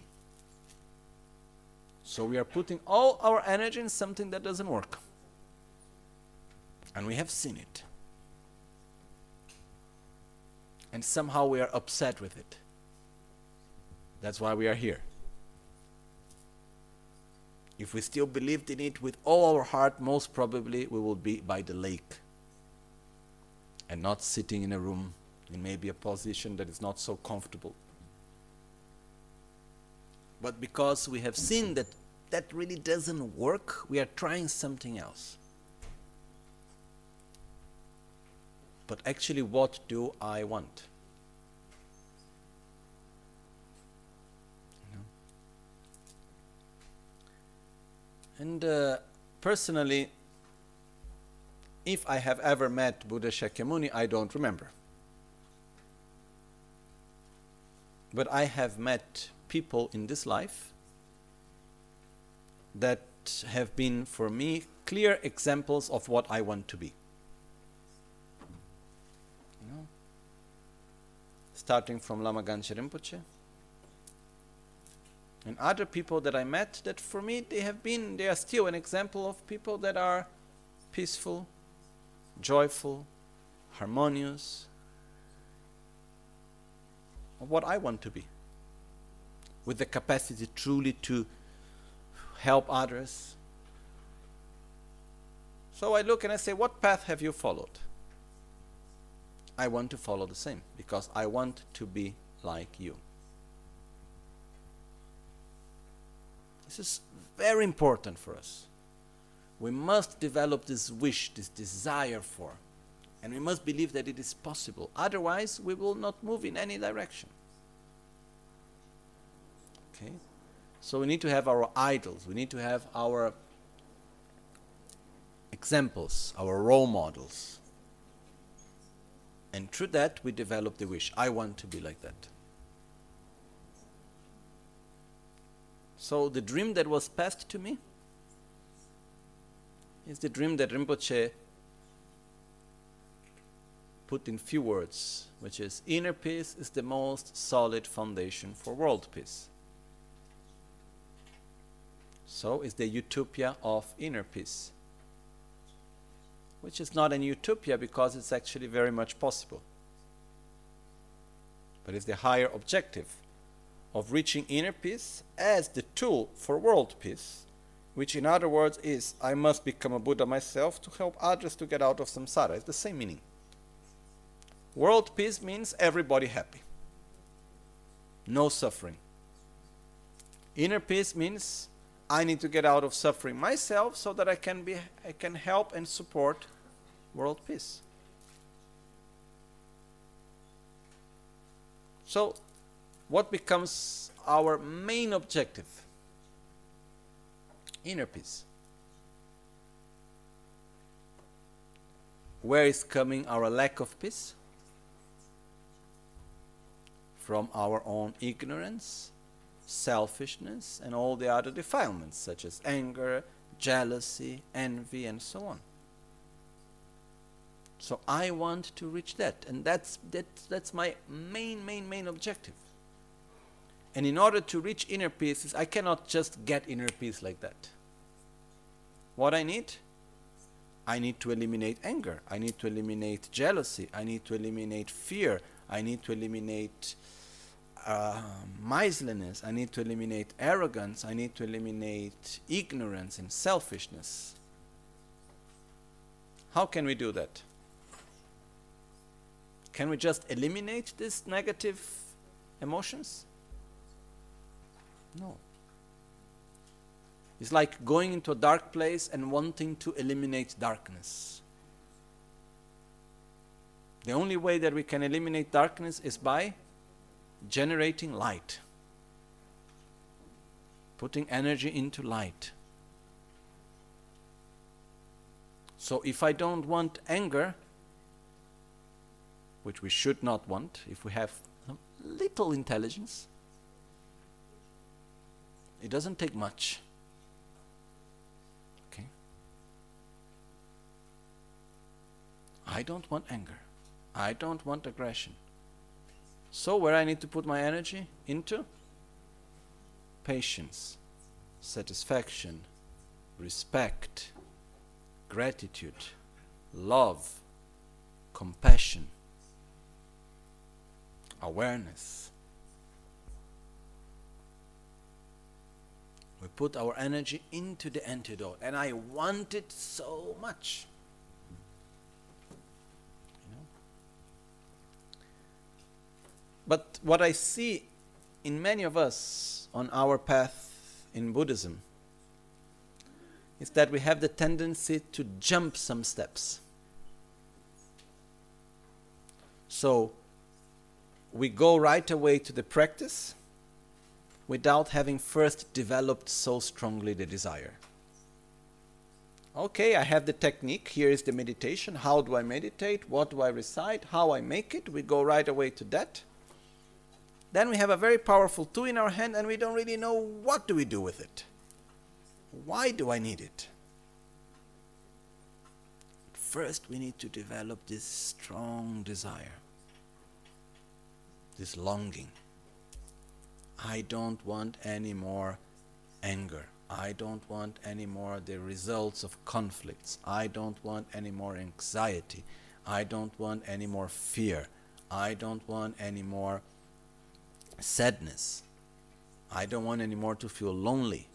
So we are putting all our energy in something that doesn't work. And we have seen it. And somehow we are upset with it. That's why we are here. If we still believed in it with all our heart, most probably we will be by the lake and not sitting in a room in maybe a position that is not so comfortable. But because we have seen that that really doesn't work, we are trying something else. But actually, what do I want? You know? And uh, personally, if I have ever met Buddha Shakyamuni, I don't remember. But I have met people in this life that have been, for me, clear examples of what I want to be. You know? Starting from Lama Ganche Rinpoche, and other people that I met that for me they have been, they are still an example of people that are peaceful, joyful, harmonious, of what I want to be, with the capacity truly to help others. So I look and I say, what path have you followed? I want to follow the same, because I want to be like you. This is very important for us. We must develop this wish, this desire for, and we must believe that it is possible. Otherwise, we will not move in any direction. Okay? So we need to have our idols, we need to have our examples, our role models. And through that, we develop the wish. I want to be like that. So the dream that was passed to me is the dream that Rinpoche put in few words, which is, inner peace is the most solid foundation for world peace. So it's the utopia of inner peace, which is not an utopia because it's actually very much possible. But it's the higher objective of reaching inner peace as the tool for world peace, which in other words is, I must become a Buddha myself to help others to get out of samsara. It's the same meaning. World peace means everybody happy, no suffering. Inner peace means I need to get out of suffering myself so that I can be, I can help and support world peace. So, what becomes our main objective? Inner peace. Where is coming our lack of peace? From our own ignorance, selfishness, and all the other defilements, such as anger, jealousy, envy, and so on. So I want to reach that, and that's, that, that's my main, main, main objective. And in order to reach inner peace, I cannot just get inner peace like that. What I need? I need to eliminate anger. I need to eliminate jealousy. I need to eliminate fear. I need to eliminate uh, miserliness. I need to eliminate arrogance. I need to eliminate ignorance and selfishness. How can we do that? Can we just eliminate these negative emotions? No. It's like going into a dark place and wanting to eliminate darkness. The only way that we can eliminate darkness is by generating light, putting energy into light. So if I don't want anger, which we should not want if we have some little intelligence, it doesn't take much. Okay? I don't want anger. I don't want aggression. So where I need to put my energy? Into patience, satisfaction, respect, gratitude, love, compassion, awareness. We put our energy into the antidote, and I want it so much. You know? But what I see in many of us on our path in Buddhism is that we have the tendency to jump some steps. So we go right away to the practice without having first developed so strongly the desire. Okay, I have the technique, here is the meditation, how do I meditate, what do I recite, how I make it, we go right away to that. Then we have a very powerful tool in our hand and we don't really know what do we do with it. Why do I need it? First we need to develop this strong desire, this longing. I don't want any more anger. I don't want any more the results of conflicts. I don't want any more anxiety. I don't want any more fear. I don't want any more sadness. I don't want any more to feel lonely.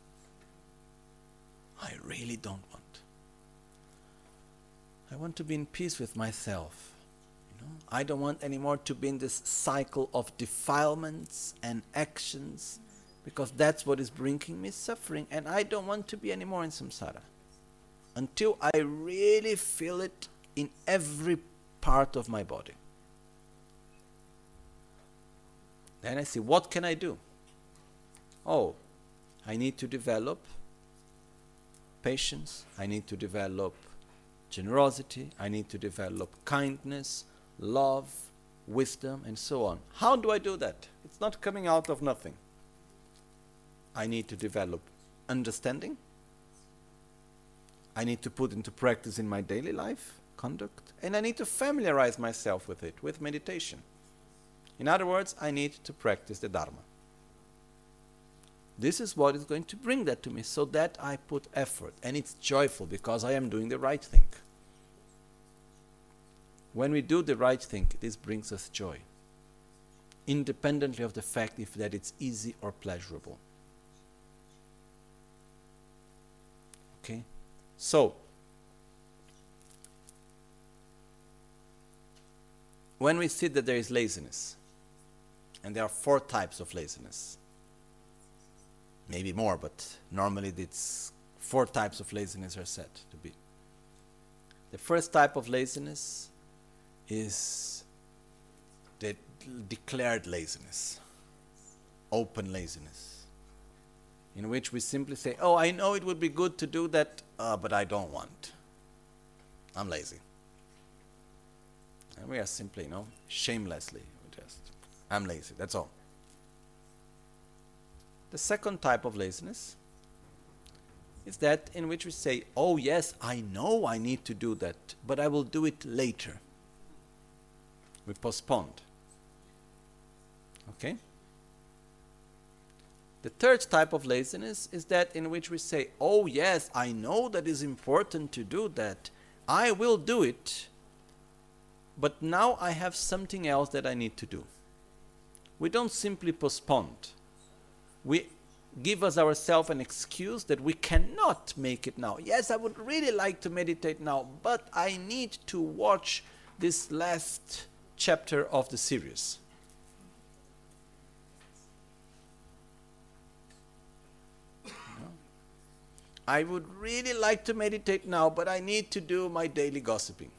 I really don't want. I want to be in peace with myself. I don't want anymore to be in this cycle of defilements and actions, because that's what is bringing me suffering, and I don't want to be anymore in samsara until I really feel it in every part of my body. Then I see, what can I do? Oh, I need to develop patience, I need to develop generosity, I need to develop kindness, love, wisdom, and so on. How do I do that? It's not coming out of nothing. I need to develop understanding. I need to put into practice in my daily life, conduct, and I need to familiarize myself with it, with meditation. In other words, I need to practice the Dharma. This is what is going to bring that to me, so that I put effort, and it's joyful because I am doing the right thing. When we do the right thing, this brings us joy, independently of the fact if that it's easy or pleasurable. Okay? So, when we see that there is laziness, and there are four types of laziness, maybe more, but normally it's four types of laziness are said to be. The first type of laziness is the declared laziness, open laziness, in which we simply say, oh, I know it would be good to do that, uh, but I don't want. I'm lazy. And we are simply, you know, shamelessly, just, I'm lazy, that's all. The second type of laziness is that in which we say, oh yes, I know I need to do that, but I will do it later. We postponed. Okay? The third type of laziness is that in which we say, oh yes, I know that is important to do that. I will do it, but now I have something else that I need to do. We don't simply postpone. We give us ourselves an excuse that we cannot make it now. Yes, I would really like to meditate now, but I need to watch this last chapter of the series. I would really like to meditate now, but I need to do my daily gossiping.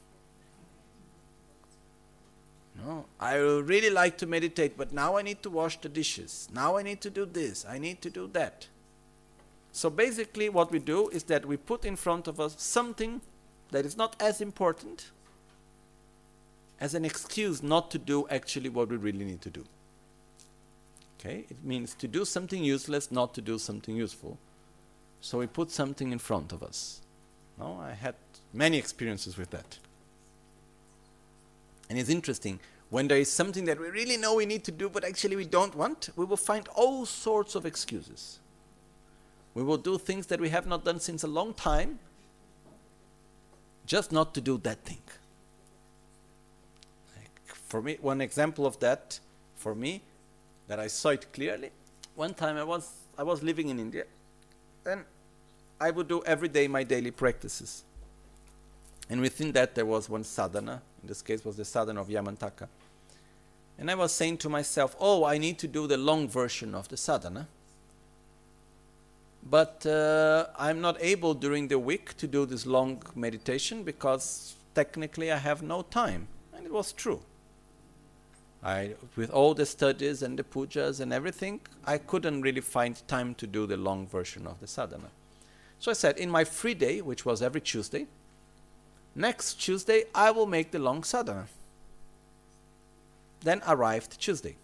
No, I would really like to meditate, but now I need to wash the dishes. Now I need to do this, I need to do that. So basically what we do is that we put in front of us something that is not as important as an excuse not to do actually what we really need to do. Okay? It means to do something useless, not to do something useful. So we put something in front of us. No, I had many experiences with that. And it's interesting, when there is something that we really know we need to do, but actually we don't want, we will find all sorts of excuses. We will do things that we have not done since a long time, just not to do that thing. Like for me, one example of that, for me, that I saw it clearly, one time I was, I was living in India, And I would do every day my daily practices. And within that there was one sadhana, in this case was the sadhana of Yamantaka. And I was saying to myself, oh, I need to do the long version of the sadhana. But uh, I'm not able during the week to do this long meditation because technically I have no time. And it was true. I, with all the studies and the pujas and everything, I couldn't really find time to do the long version of the sadhana. So I said, in my free day, which was every Tuesday, next Tuesday I will make the long sadhana. Then arrived Tuesday.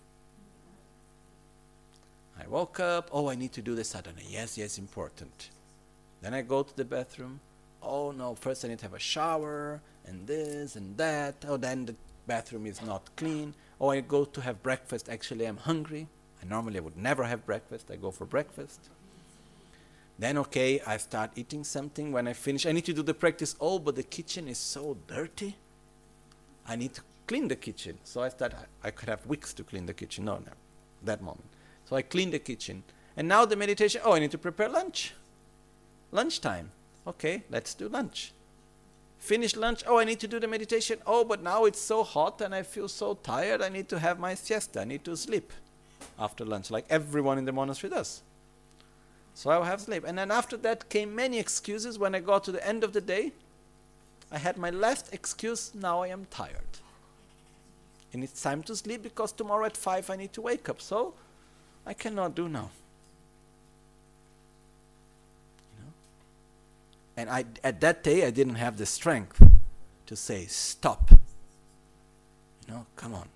I woke up, oh, I need to do the sadhana. Yes, yes, important. Then I go to the bathroom. Oh, no, first I need to have a shower, and this and that. Oh, then the bathroom is not clean. Oh, I go to have breakfast. Actually, I'm hungry. I normally would never have breakfast. I go for breakfast. Then, okay, I start eating something. When I finish, I need to do the practice. Oh, but the kitchen is so dirty. I need to clean the kitchen. So I start, I could have weeks to clean the kitchen. No, no, that moment. So I clean the kitchen. And now the meditation, oh, I need to prepare lunch. Lunchtime. Okay, let's do lunch. Finish lunch, oh, I need to do the meditation. Oh, but now it's so hot and I feel so tired. I need to have my siesta. I need to sleep after lunch, like everyone in the monastery does. So I will have sleep. And then after that came many excuses. When I got to the end of the day, I had my last excuse, now I am tired. And it's time to sleep because tomorrow at five I need to wake up. So I cannot do now. You know? And I, at that day, I didn't have the strength to say, stop. You know, come on.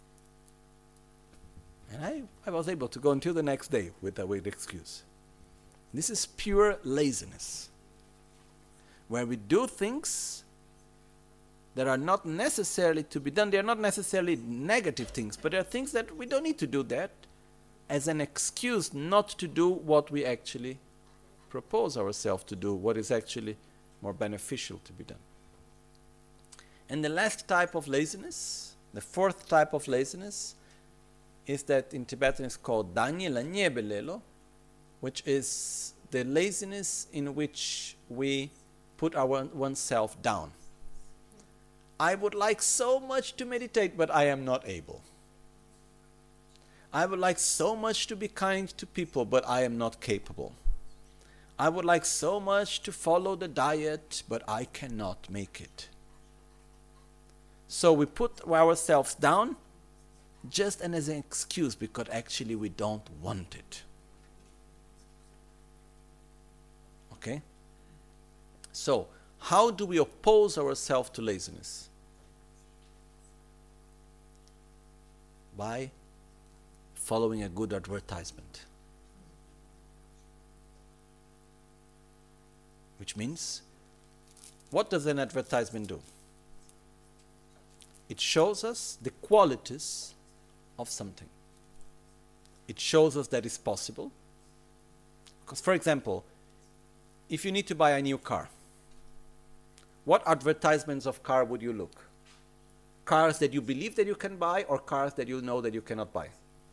And I, I was able to go until the next day with a with excuse. This is pure laziness, where we do things that are not necessarily to be done. They are not necessarily negative things, but they are things that we don't need to do that as an excuse not to do what we actually propose ourselves to do, what is actually more beneficial to be done. And the last type of laziness, the fourth type of laziness, is that in Tibetan is called Danye Lanye Belelo, which is the laziness in which we put our oneself down. I would like so much to meditate, but I am not able. I would like so much to be kind to people, but I am not capable. I would like so much to follow the diet, but I cannot make it. So we put ourselves down just as an excuse because actually we don't want it. Okay? So, how do we oppose ourselves to laziness? By following a good advertisement. Which means, what does an advertisement do? It shows us the qualities of something. It shows us that it's possible. Because, for example, if you need to buy a new car, what advertisements of car would you look? Cars that you believe that you can buy, or cars that you know that you cannot buy?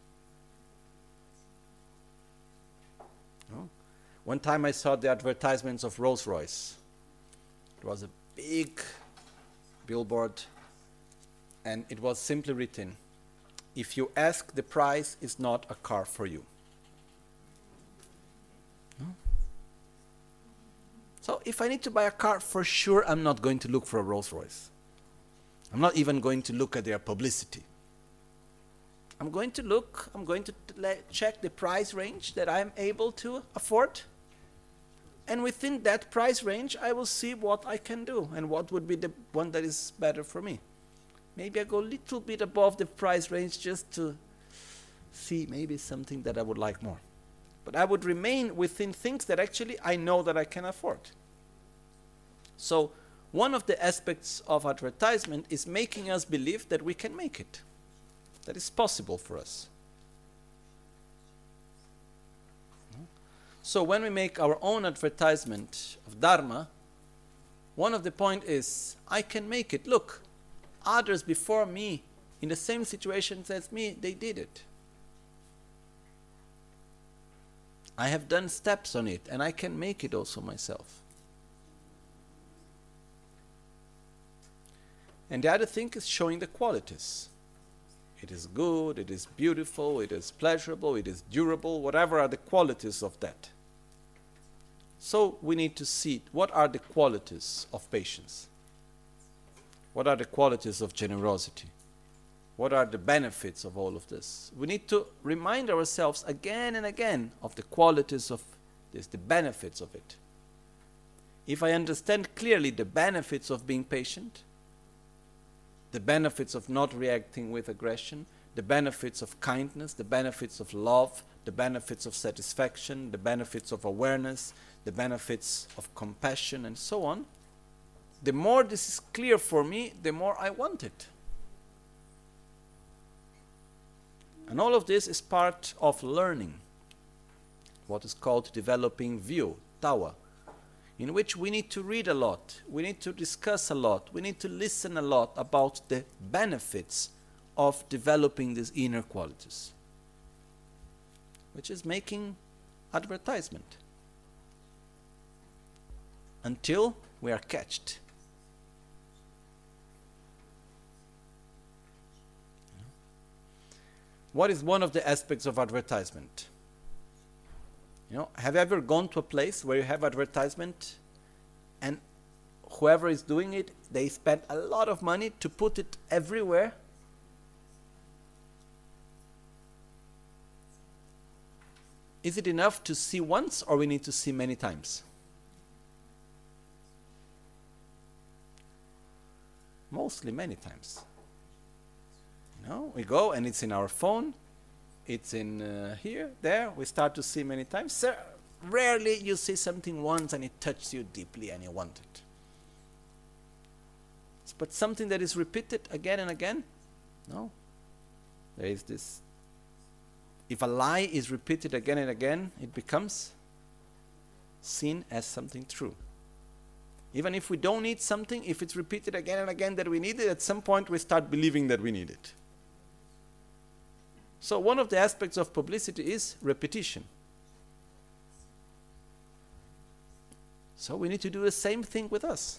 No? One time I saw the advertisements of Rolls-Royce. It was a big billboard, and it was simply written, if you ask the price, it's not a car for you. No? So if I need to buy a car, for sure I'm not going to look for a Rolls-Royce. I'm not even going to look at their publicity. I'm going to look, I'm going to check the price range that I'm able to afford. And within that price range, I will see what I can do and what would be the one that is better for me. Maybe I go a little bit above the price range just to see maybe something that I would like more. But I would remain within things that actually I know that I can afford. So one of the aspects of advertisement is making us believe that we can make it, that it's possible for us. So when we make our own advertisement of Dharma, one of the points is, I can make it. Look, others before me in the same situation as me, they did it. I have done steps on it, and I can make it also myself. And the other thing is showing the qualities. It is good, it is beautiful, it is pleasurable, it is durable, whatever are the qualities of that. So we need to see what are the qualities of patience. What are the qualities of generosity? What are the benefits of all of this? We need to remind ourselves again and again of the qualities of this, the benefits of it. If I understand clearly the benefits of being patient, the benefits of not reacting with aggression, the benefits of kindness, the benefits of love, the benefits of satisfaction, the benefits of awareness, the benefits of compassion, and so on, the more this is clear for me, the more I want it. And all of this is part of learning, what is called developing view, tawa, in which we need to read a lot, we need to discuss a lot, we need to listen a lot about the benefits of developing these inner qualities, which is making advertisement until we are catched. What is one of the aspects of advertisement? You know, have you ever gone to a place where you have advertisement and whoever is doing it, they spend a lot of money to put it everywhere? Is it enough to see once, or we need to see many times? Mostly many times. You know, we go and it's in our phone, it's in uh, here, there, we start to see many times. So rarely you see something once and it touches you deeply and you want it. But something that is repeated again and again, no. There is this, if a lie is repeated again and again, it becomes seen as something true. Even if we don't need something, if it's repeated again and again that we need it, at some point we start believing that we need it. So one of the aspects of publicity is repetition. So we need to do the same thing with us.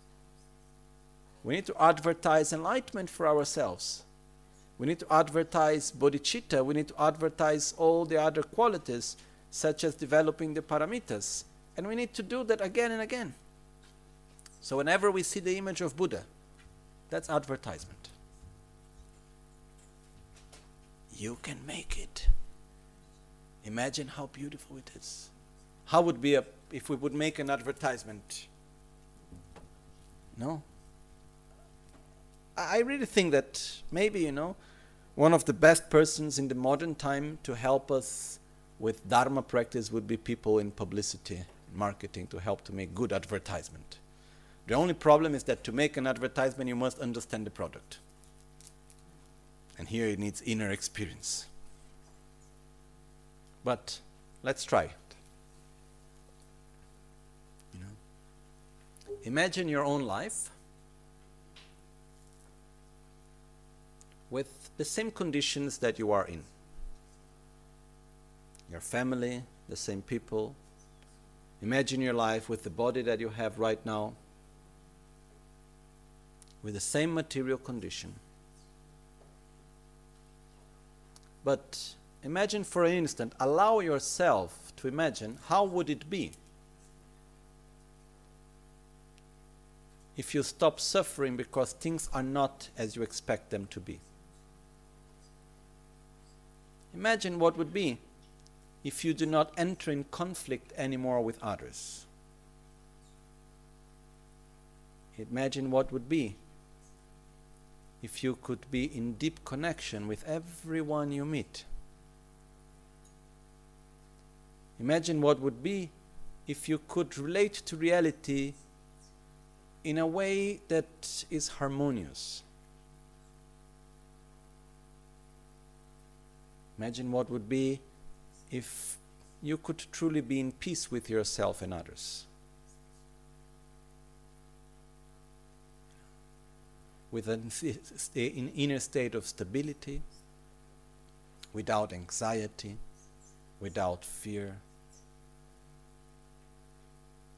We need to advertise enlightenment for ourselves. We need to advertise bodhicitta. We need to advertise all the other qualities, such as developing the paramitas. And we need to do that again and again. So whenever we see the image of Buddha, that's advertisement. You can make it. Imagine how beautiful it is. How would be a, if we would make an advertisement? No? I really think that maybe, you know, one of the best persons in the modern time to help us with Dharma practice would be people in publicity, marketing, to help to make good advertisement. The only problem is that to make an advertisement, you must understand the product. And here it needs inner experience. But let's try it. You know, imagine your own life with the same conditions that you are in. Your family, the same people. Imagine your life with the body that you have right now, with the same material condition. But imagine for an instant, allow yourself to imagine how would it be if you stop suffering because things are not as you expect them to be. Imagine what would be if you do not enter in conflict anymore with others. Imagine what would be if you could be in deep connection with everyone you meet. Imagine what would be if you could relate to reality in a way that is harmonious. Imagine what would be if you could truly be in peace with yourself and others. With an inner state of stability, without anxiety, without fear,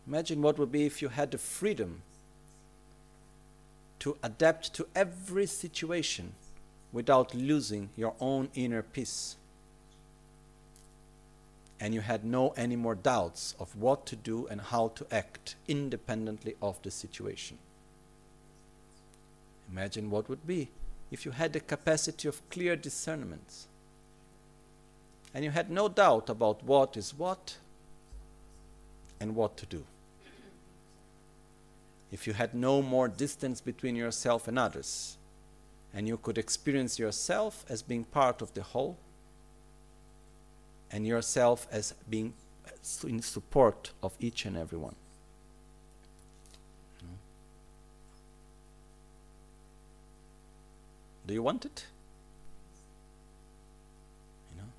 Imagine what would be if you had the freedom to adapt to every situation without losing your own inner peace. And you had no any more doubts of what to do and how to act independently of the situation. Imagine what would be if you had the capacity of clear discernment and you had no doubt about what is what and what to do. If you had no more distance between yourself and others, and you could experience yourself as being part of the whole, and yourself as being in support of each and every one. No? Do you want it? You know?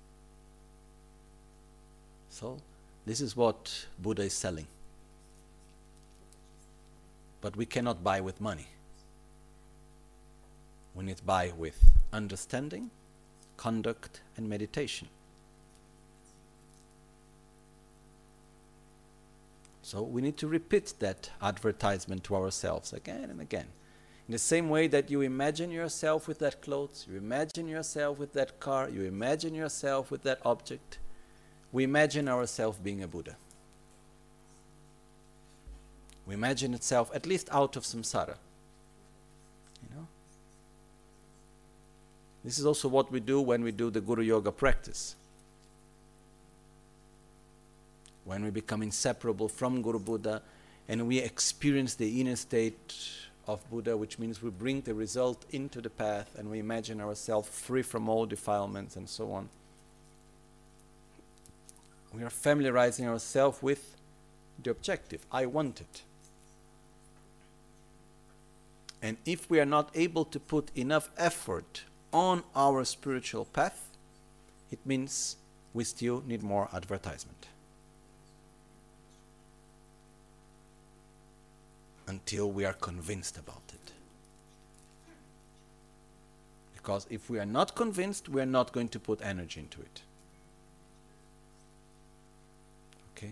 So, this is what Buddha is selling. But we cannot buy with money. We need to buy with understanding, conduct, and meditation. So we need to repeat that advertisement to ourselves again and again. In the same way that you imagine yourself with that clothes, you imagine yourself with that car, you imagine yourself with that object, we imagine ourselves being a Buddha. We imagine itself at least out of samsara. You know? This is also what we do when we do the Guru Yoga practice. When we become inseparable from Guru Buddha and we experience the inner state of Buddha, which means we bring the result into the path and we imagine ourselves free from all defilements and so on. We are familiarizing ourselves with the objective. I want it. And if we are not able to put enough effort on our spiritual path, it means we still need more advertisement. Until we are convinced about it. Because if we are not convinced, we are not going to put energy into it. Okay?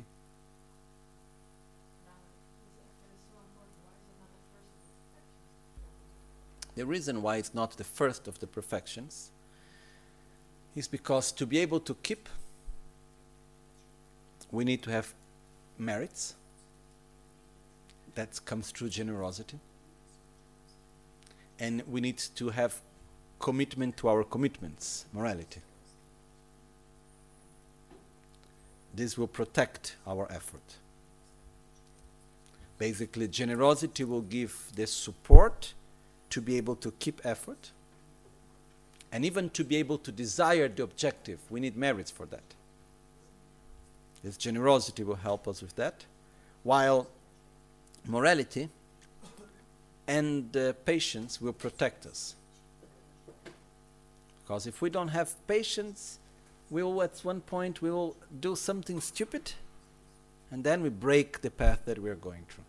The reason why it's not the first of the perfections is because to be able to keep, we need to have merits. That comes through generosity. And we need to have commitment to our commitments, morality. This will protect our effort. Basically, generosity will give the support to be able to keep effort. And even to be able to desire the objective, we need merits for that. This generosity will help us with that. While morality and uh, patience will protect us. Because if we don't have patience, we will at one point we will do something stupid and then we break the path that we are going through.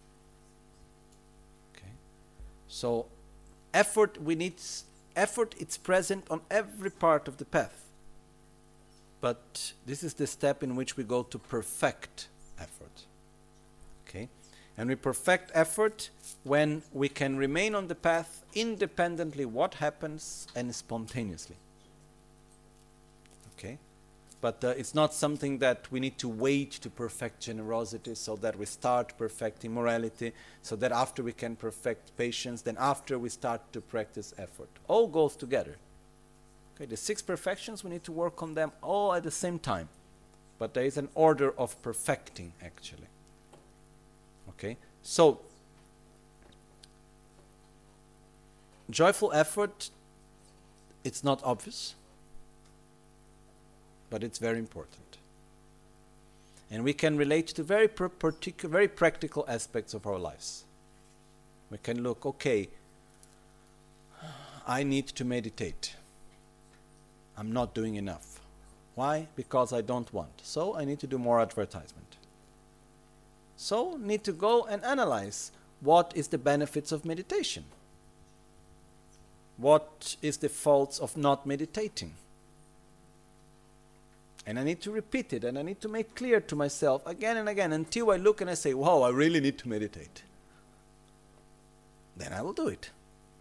Okay. So effort, we need effort, it's present on every part of the path. But this is the step in which we go to perfect effort. Okay. And we perfect effort when we can remain on the path independently what happens and spontaneously. Okay? But uh, it's not something that we need to wait to perfect generosity so that we start perfecting morality, so that after we can perfect patience, then after we start to practice effort. All goes together. Okay? The six perfections, we need to work on them all at the same time. But there is an order of perfecting actually. Okay, so joyful effort, it's not obvious, but it's very important. And we can relate to very particular, very practical aspects of our lives. We can look, okay, I need to meditate. I'm not doing enough. Why? Because I don't want. So I need to do more advertisement. So, need to go and analyze what is the benefits of meditation. What is the faults of not meditating? And I need to repeat it, and I need to make clear to myself again and again until I look and I say, wow, I really need to meditate. Then I will do it.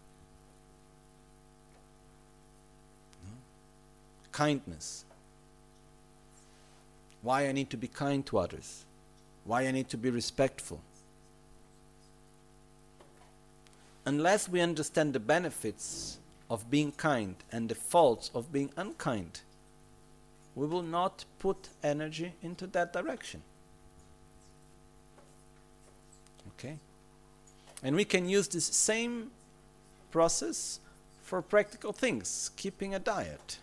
Kindness. Why I need to be kind to others. Why I need to be respectful. Unless we understand the benefits of being kind and the faults of being unkind, we will not put energy into that direction. Okay? And we can use this same process for practical things, keeping a diet,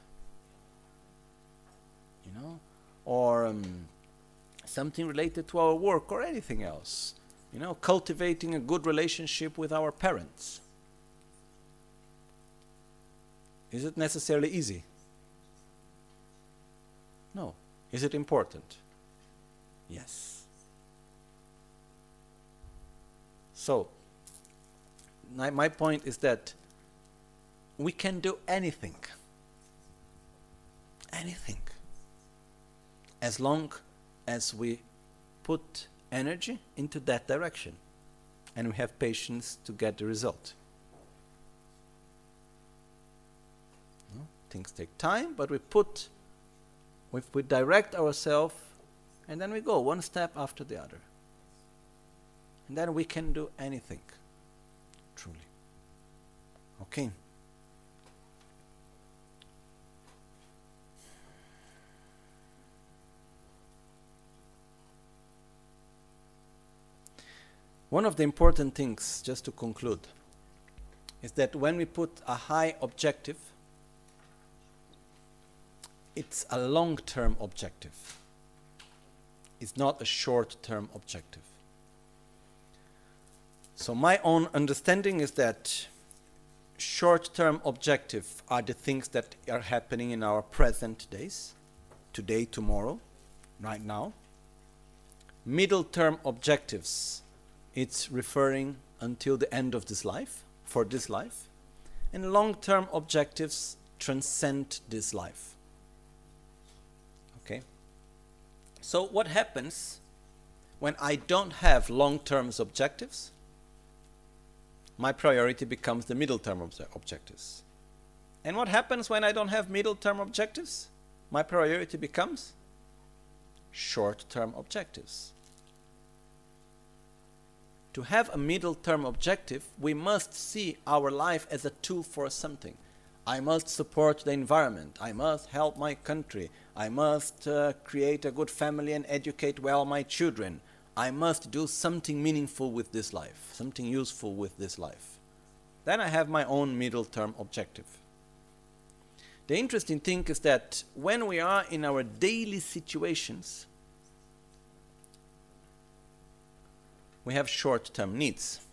you know, or um, something related to our work or anything else. You know, cultivating a good relationship with our parents. Is it necessarily easy? No. Is it important? Yes. So, my, my point is that we can do anything. Anything. As long as we put energy into that direction and we have patience to get the result. No? Things take time, but we put, we, we direct ourselves, and then we go one step after the other. And then we can do anything, truly. Okay. One of the important things, just to conclude, is that when we put a high objective, it's a long-term objective. It's not a short-term objective. So my own understanding is that short-term objectives are the things that are happening in our present days, today, tomorrow, right now. Middle-term objectives, it's referring until the end of this life, for this life. And long-term objectives transcend this life. Okay? So what happens when I don't have long-term objectives? My priority becomes the middle-term obje- objectives. And what happens when I don't have middle-term objectives? My priority becomes short-term objectives. To have a middle-term objective, we must see our life as a tool for something. I must support the environment. I must help my country. I must uh, create a good family and educate well my children. I must do something meaningful with this life, something useful with this life. Then I have my own middle-term objective. The interesting thing is that when we are in our daily situations, we have short-term needs.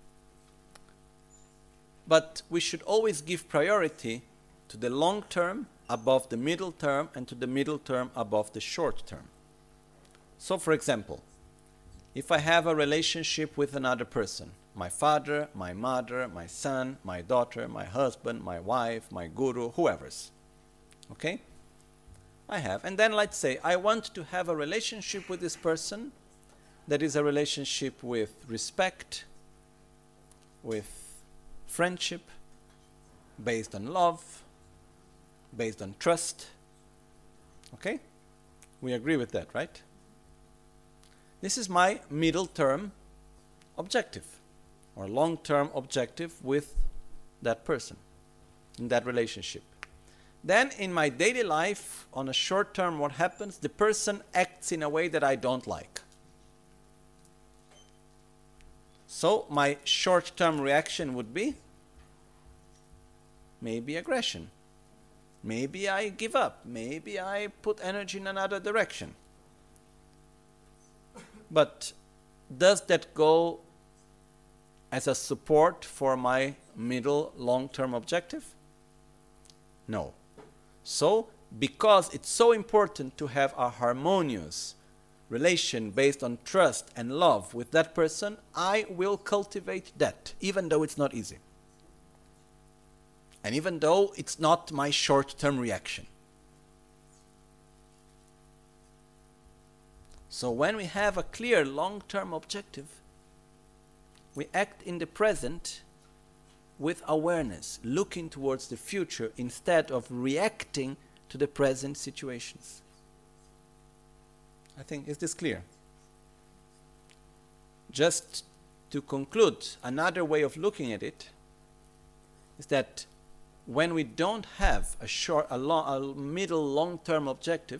But we should always give priority to the long term above the middle term and to the middle term above the short term. So for example, if I have a relationship with another person, my father, my mother, my son, my daughter, my husband, my wife, my guru, whoever's, okay? I have. And then let's say I want to have a relationship with this person that is a relationship with respect, with friendship, based on love, based on trust. Okay? We agree with that, right? This is my middle-term objective, or long-term objective with that person, in that relationship. Then in my daily life, on a short term, what happens? The person acts in a way that I don't like. So my short-term reaction would be maybe aggression. Maybe I give up. Maybe I put energy in another direction. But does that go as a support for my middle long-term objective? No. So, because it's so important to have a harmonious relation based on trust and love with that person, I will cultivate that, even though it's not easy. And even though it's not my short-term reaction. So when we have a clear long-term objective, we act in the present with awareness, looking towards the future instead of reacting to the present situations. I think, is this clear? Just to conclude, another way of looking at it is that when we don't have a short, a, long, a middle, long-term objective,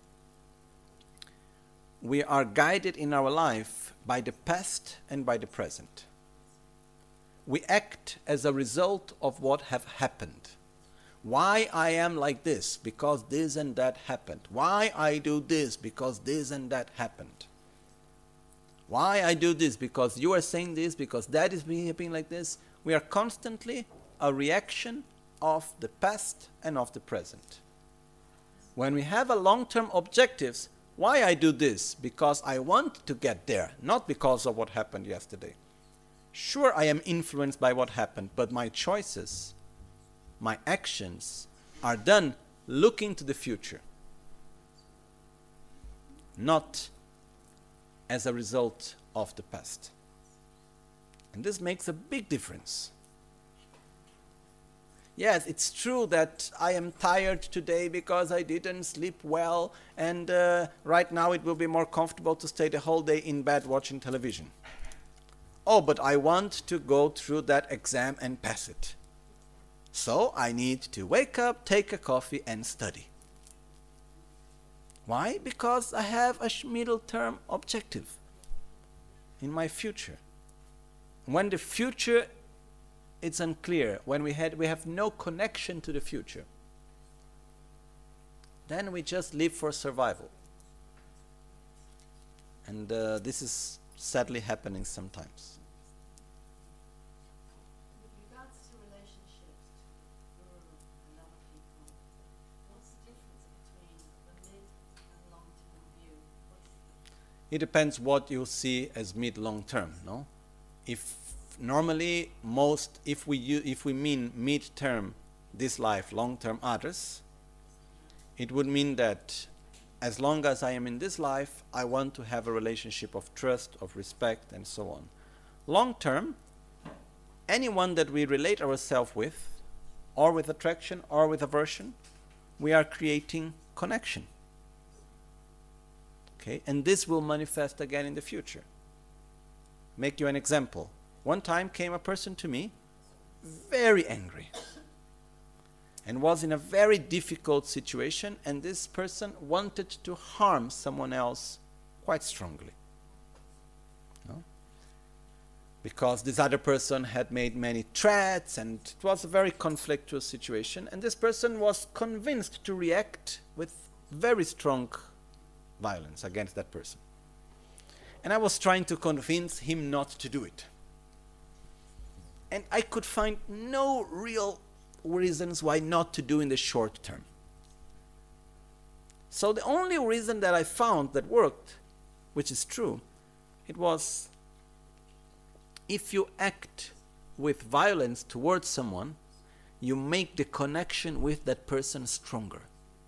we are guided in our life by the past and by the present. We act as a result of what have happened. Why I am like this? Because this and that happened. Why I do this? Because this and that happened. Why I do this? Because you are saying this, because that is being like this. We are constantly a reaction of the past and of the present. When we have a long-term objectives, why I do this? Because I want to get there, not because of what happened yesterday. Sure, I am influenced by what happened, but my choices, my actions are done looking to the future, not as a result of the past. And this makes a big difference. Yes, it's true that I am tired today because I didn't sleep well, and uh, right now it will be more comfortable to stay the whole day in bed watching television. Oh, but I want to go through that exam and pass it. So I need to wake up, take a coffee, and study. Why? Because I have a middle-term objective in my future. When the future it's unclear, when we had we have no connection to the future, then we just live for survival. And uh, this is sadly happening sometimes. With regards to relationships to Guru and other people, what's the difference between the mid and long-term view? What's the It depends what you see as mid-long term, no? If normally most, if we u- if we mean mid-term this life, long-term others, it would mean that as long as I am in this life, I want to have a relationship of trust, of respect, and so on. Long-term, anyone that we relate ourselves with, or with attraction, or with aversion, we are creating connection. Okay, and this will manifest again in the future. Make you an example. One time came a person to me, very angry, and was in a very difficult situation, and this person wanted to harm someone else quite strongly. No? Because this other person had made many threats, and it was a very conflictual situation, and this person was convinced to react with very strong violence against that person. And I was trying to convince him not to do it. And I could find no real reasons why not to do in the short term. So the only reason that I found that worked, which is true, it was if you act with violence towards someone, you make the connection with that person stronger.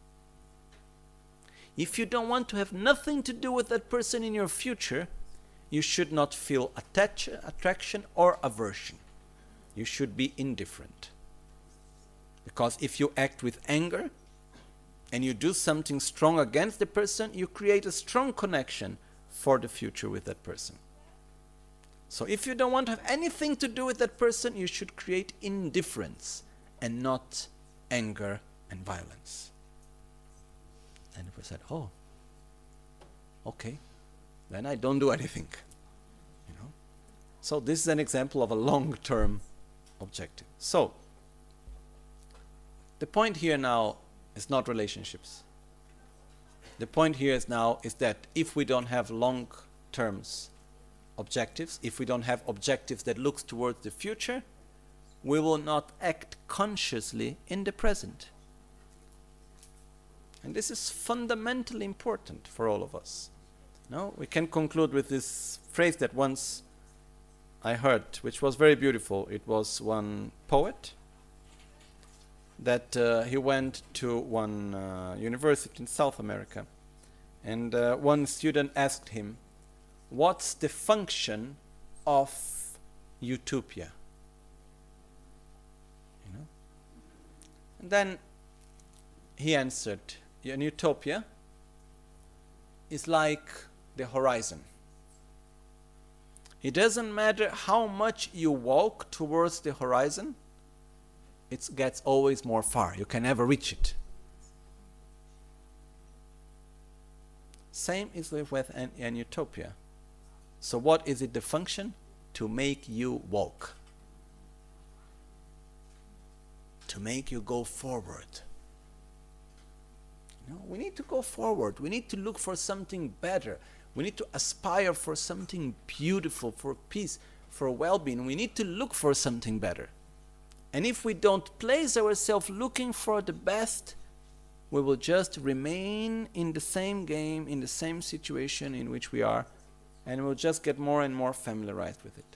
If you don't want to have nothing to do with that person in your future, you should not feel attach- attraction or aversion. You should be indifferent. Because if you act with anger and you do something strong against the person, you create a strong connection for the future with that person. So if you don't want to have anything to do with that person, you should create indifference and not anger and violence. And we said, oh, okay, then I don't do anything. You know? So this is an example of a long-term objective. So the point here now is not relationships. The point here is now is that if we don't have long-term objectives, if we don't have objectives that looks towards the future, we will not act consciously in the present. And this is fundamentally important for all of us. No, we can conclude with this phrase that once I heard, which was very beautiful. It was one poet that uh, he went to one uh, university in South America, And uh, one student asked him, what's the function of utopia? You know? And then he answered, an utopia is like the horizon. It doesn't matter how much you walk towards the horizon, it gets always more far. You can never reach it. Same is with an, an utopia. So what is it the function? To make you walk. To make you go forward. You know, we need to go forward. We need to look for something better. We need to aspire for something beautiful, for peace, for well-being. We need to look for something better. And if we don't place ourselves looking for the best, we will just remain in the same game, in the same situation in which we are, and we'll just get more and more familiarized with it.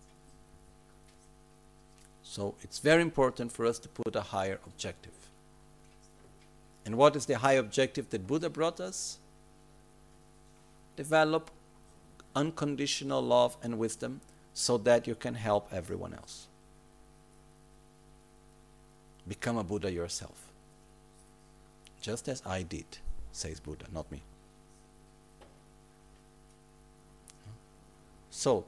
So it's very important for us to put a higher objective. And what is the high objective that Buddha brought us? Develop unconditional love and wisdom so that you can help everyone else. Become a Buddha yourself. Just as I did, says Buddha, not me. So,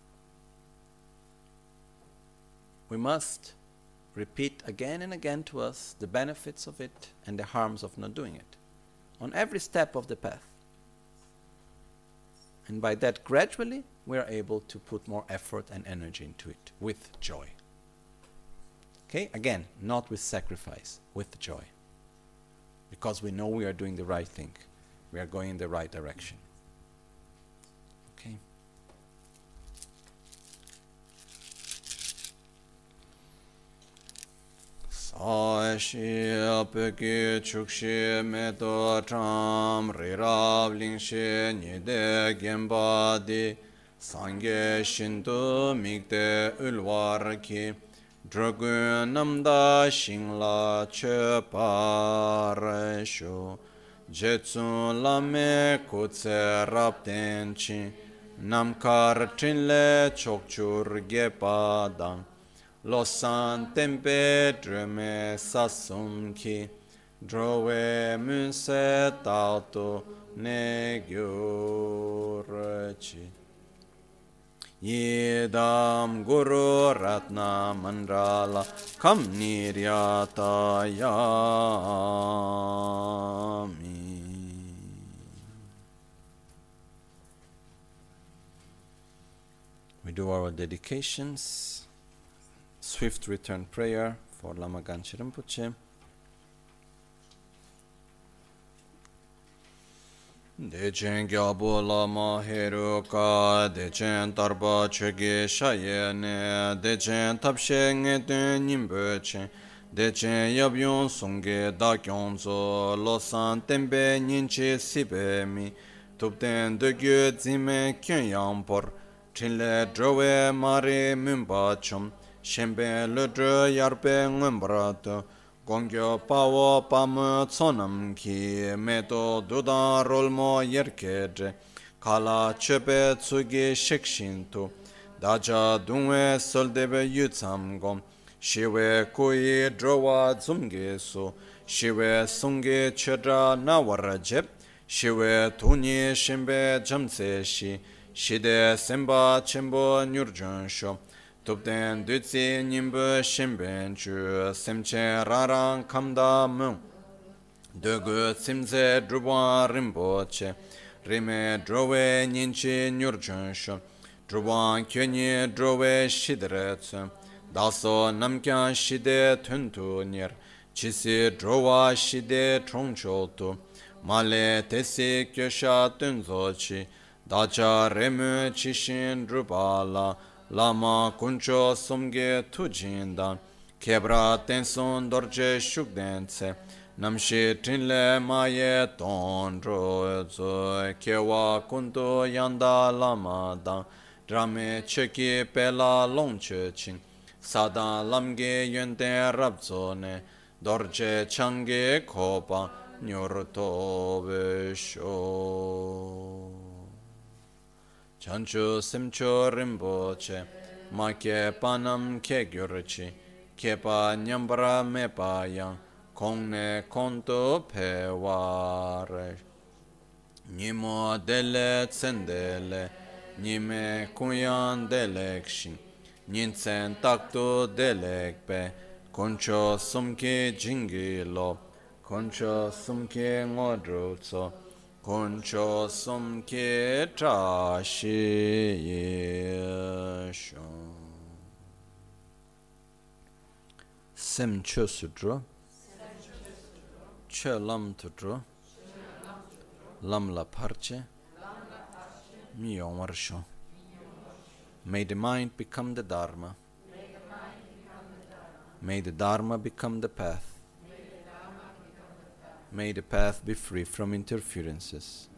we must repeat again and again to us the benefits of it and the harms of not doing it on every step of the path. And by that, gradually, we are able to put more effort and energy into it with joy. Okay? Again, not with sacrifice, with joy. Because we know we are doing the right thing. We are going in the right direction. Okay? Sa-shi apeki chukshi meto tram rirab lingshi nide genpa di sangye shintu mikde ulwar ki dragun namda shingla che parasho jetsun lame kutse rapten chi namkar chinle chokchur gepa dang Losan tempe drume sasum ki drove munse tauto ne gyurchi Yedam guru ratna mandrala kam niryata yami. We do our dedications. Swift return prayer for Lama Ganche Rinpoche. Dechen gyabo lama heruka, dechen tarba chege shayene, dechen tapshe ngeten nimbeche, dechen yabyon sunge da kyonzo, losan tembe nyinche sibe mi, tupten degye zime kyen yampor, chinle drowe mare mumbachum, Shembe ledre yarpe ngumbrato, gongyo pawo pamu tsonam ki, meto dudan rolmo yerkedre, kala chepe tsugi shikshintu, daja dungwe soldebe yutsam shiwe kui drowa zumge su, shiwe sungi chedra nawarajeb, shiwe tuni shembe jamse shi, shide semba chembo nyurjonsho, Tupten dutsi nimbu shimben chu semche rarang kamda mung Dugu simze druban rimboche Rime drove ninchi nyurjunshu Druban kyunyi drove shidretsu Daso namkyan shide tuntu nir Chisi drova shide trongchotu Male tesi kyosha tunzochi Dacha remu chishin drupala Lama kuncho sumge tujindan, kebra tenson dorje shukdense, namshi trinle maye tondro zo, kewa kunto yanda lama dan, drame cheki pela longche chin, sadan lamge yente rabzone, dorje change kopa, nyorto besho. Chanchu simcho rinpoche, ma ke panam ke gyurchi, ke pa nyambra me pa yang, kongne konto pe ware. Nimo dele tsendele, nime kuyan delekshin, ninsen takto delekpe, koncho sumke jingilo, koncho sumke ngodrutso, koncho sumke trashi yesho. Sem cho sudro, cho lam tudro, lam la parche, mi warsho. May the mind become the Dharma. May the Dharma become the path. May the path be free from interferences.